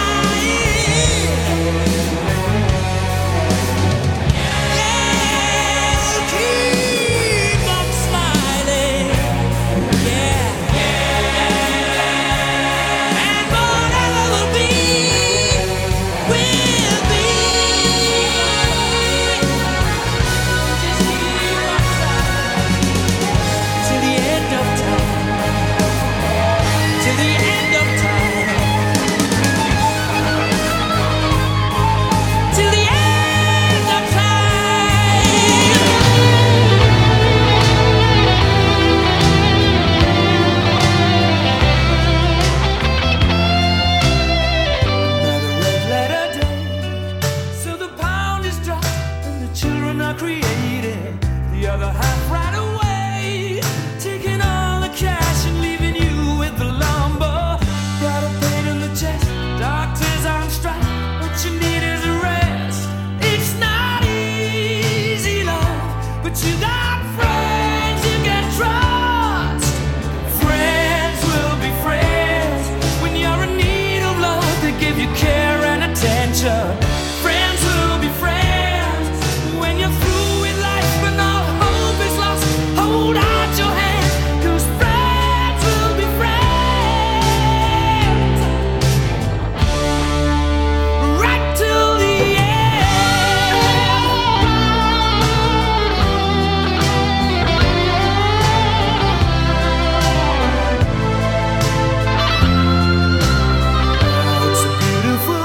Friends will be friends when you're through with life, but no hope is lost. Hold out your hand, 'cause friends will be friends right till the end. It's a beautiful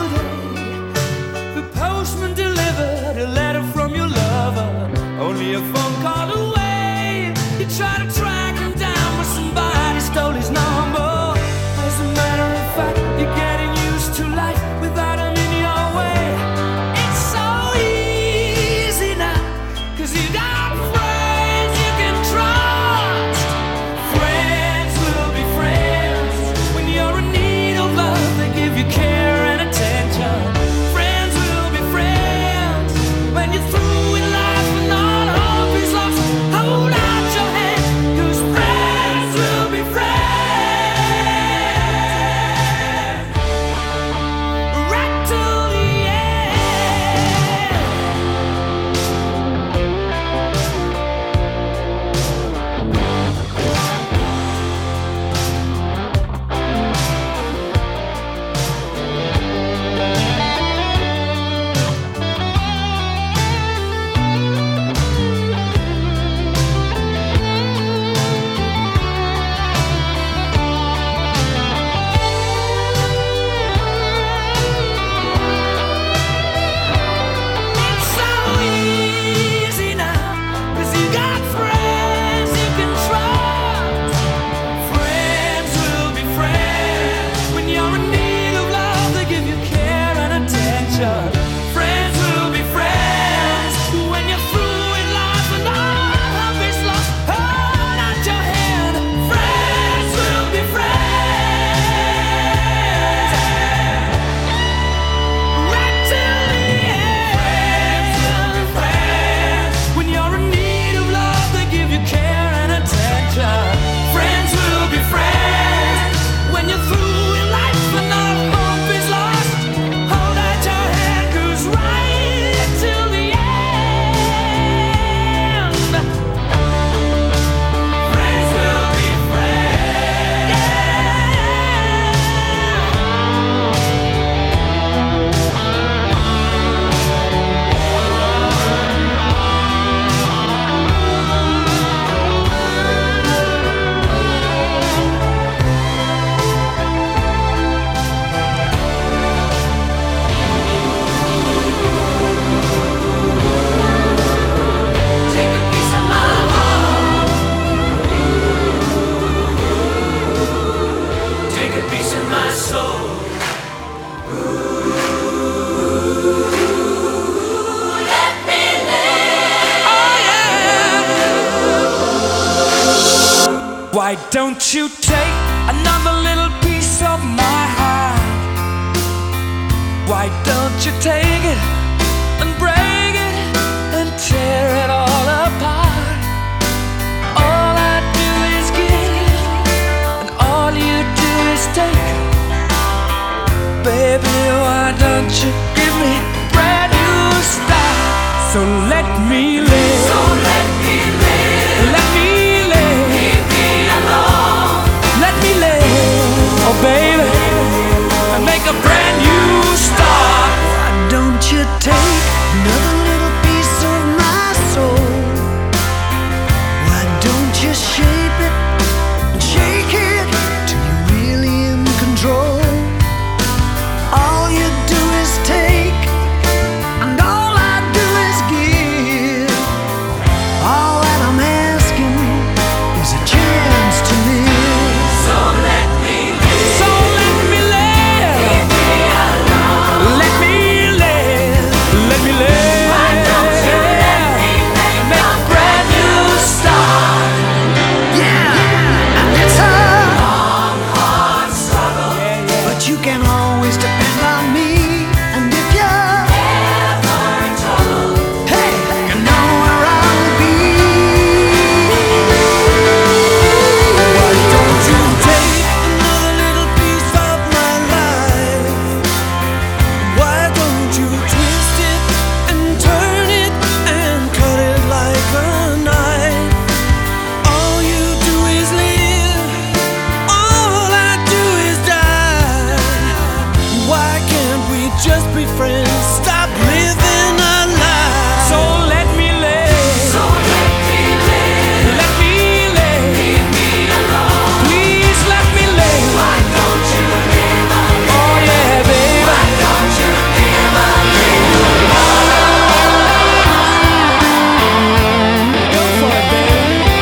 Why don't you take another little piece of my heart? Why don't you take it and break it and tear it all apart? All I do is give, and all you do is take. Baby, why don't you give me a brand new start? So let me live. So let me live. Let me live. Leave me alone. Let me live. Oh baby, and make a brand new start. Why don't you take another little piece of my soul? Why don't you shape it and shake it till you're really in control? All you do is take, and all I do is give. All that I'm asking is a chance to live. So let me live. So let me live. Leave me alone. Let me live. Let me live. Why don't you let me make Make a a brand new start. Yeah, and it's a long, hard struggle. but you can always depend on me. And if you're Ever in trouble. hey, you know where I'll be. Why don't you take another little piece of my life? Why don't you twist it and turn it and cut it like a knife? All you do is live, all I do is die. Why can't we just be friends? Stop living a lie. So let me live. So let me live. Let me live. Leave me alone. Please let me live. Why don't you live a little? Oh yeah, baby. Why don't you live a little? Go for it, baby.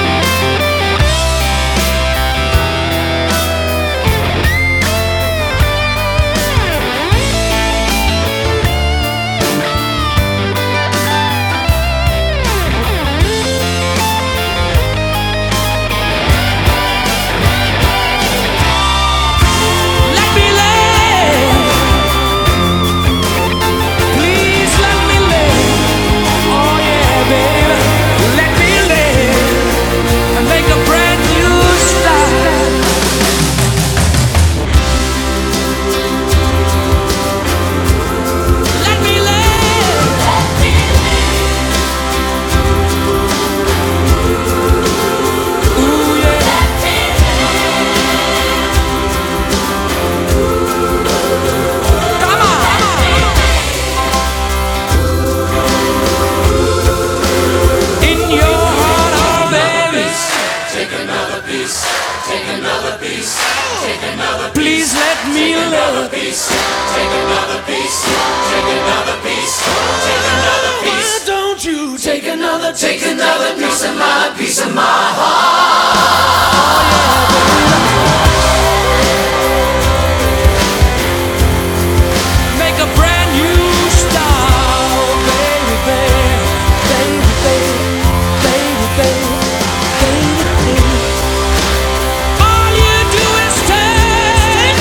Let me live. Please let me live. Oh yeah, baby. Let me live and make a brand new start. Let me live. Ooh yeah. Come on. In your heart, oh baby. Take another piece. Take another piece. Take another Please let me live. piece. Take another piece. Take another piece. Take another piece. Why don't you Take another, take another piece of my, piece of my heart. make a brand new start, baby, baby, baby, baby, baby, baby, baby. All you do is take.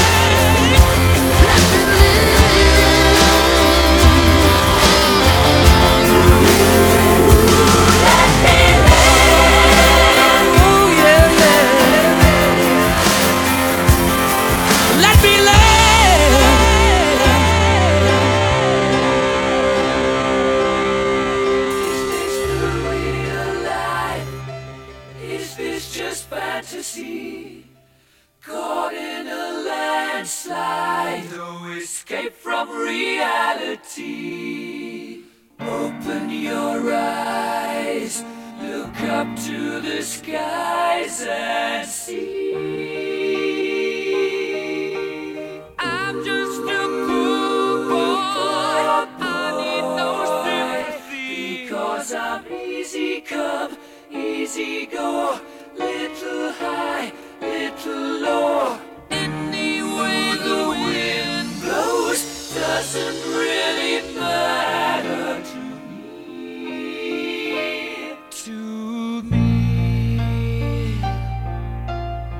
Ooh, yeah, yeah. Let me live. Is this the real life? Is this just fantasy? Caught in a landslide, no escape from reality. Open your eyes, look up to the skies and see. I'm just a poor boy. I need no sympathy. Because I'm easy come, easy go. Little high, little low. Any way the wind blows doesn't really matter to me. To me.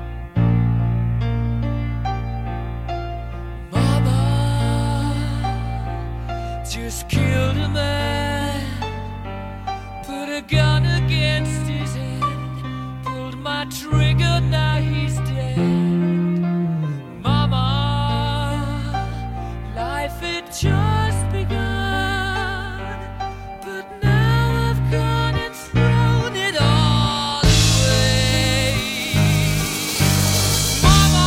just killed a man, put a gun against his head, pulled my trigger, now he's dead. Mama, life had just begun, but now I've gone and thrown it all away. Mama,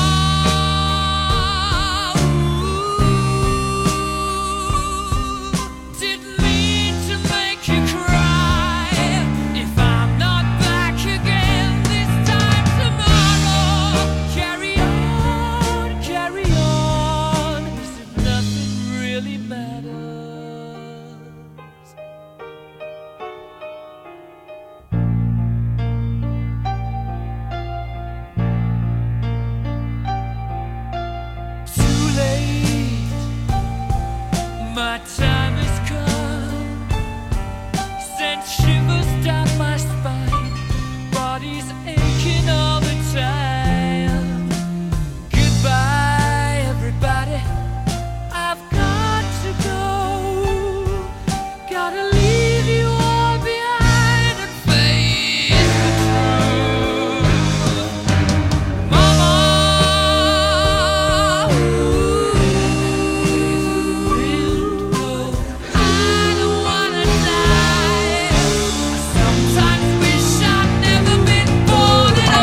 ooh, didn't mean to make you cry. If I'm not back again this time tomorrow, carry on, carry on, as if nothing really matters. Too late, my time has come. Sent shivers down my spine, body's aching all the time. Goodbye, everybody, I've got to go. Gotta leave you all behind and face the truth. Mama, ooh, I don't wanna die. I sometimes wish I'd never been born at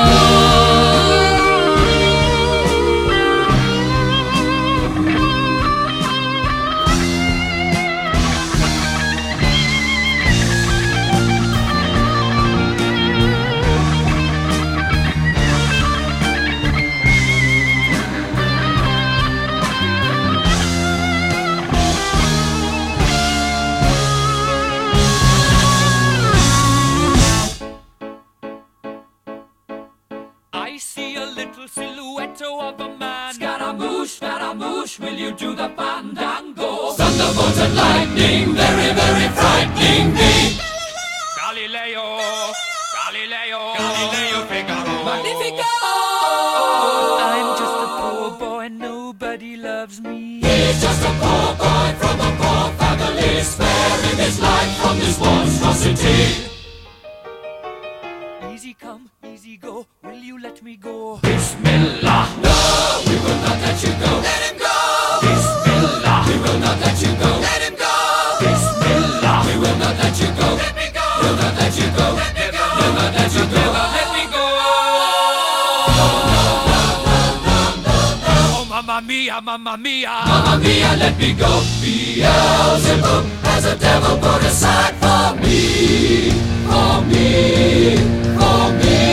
I see a little silhouette of a man. Scaramouche, Scaramouche, will you do the fandango? Thunderbolt and lightning, very, very frightening me. Galileo, Galileo, Galileo Figaro. Magnifico! I'm just a poor boy, nobody loves me. He's just a poor boy from a poor family, sparing his life from this monstrosity. Easy come, easy go, will you let me go? Bismillah, no, we will not let you go. Let him go! Bismillah, we will not let you go. Let him go! Bismillah, we will not let you go. Let me go! We'll not let you go. Let me go! We'll not let you go. Let me go! Oh, mamma mia, mamma mia, mamma mia, let me go. Beelzebub has a devil put aside for me, for me, for me.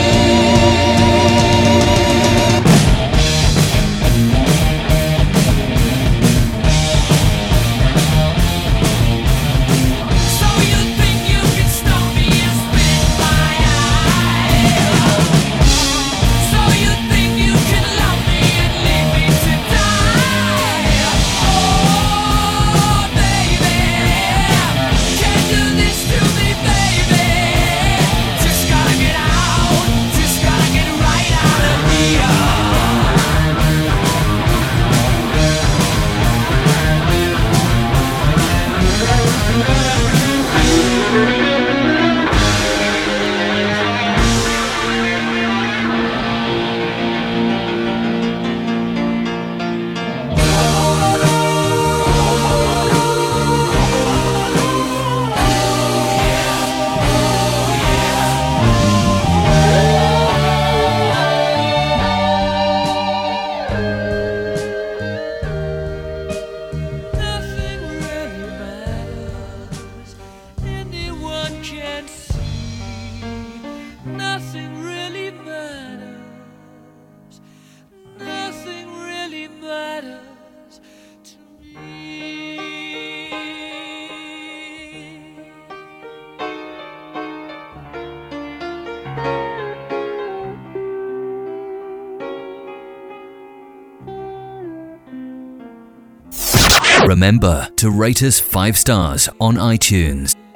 So you think you can stop me and spit my eye? So you think you can love me and leave me to die? Oh, baby, can't do this to me, baby. Just gotta get out, just gotta get right out of here. Nothing really matters. Anyone can see. Nothing really matters. Nothing really matters to me. Remember to rate us five stars on iTunes.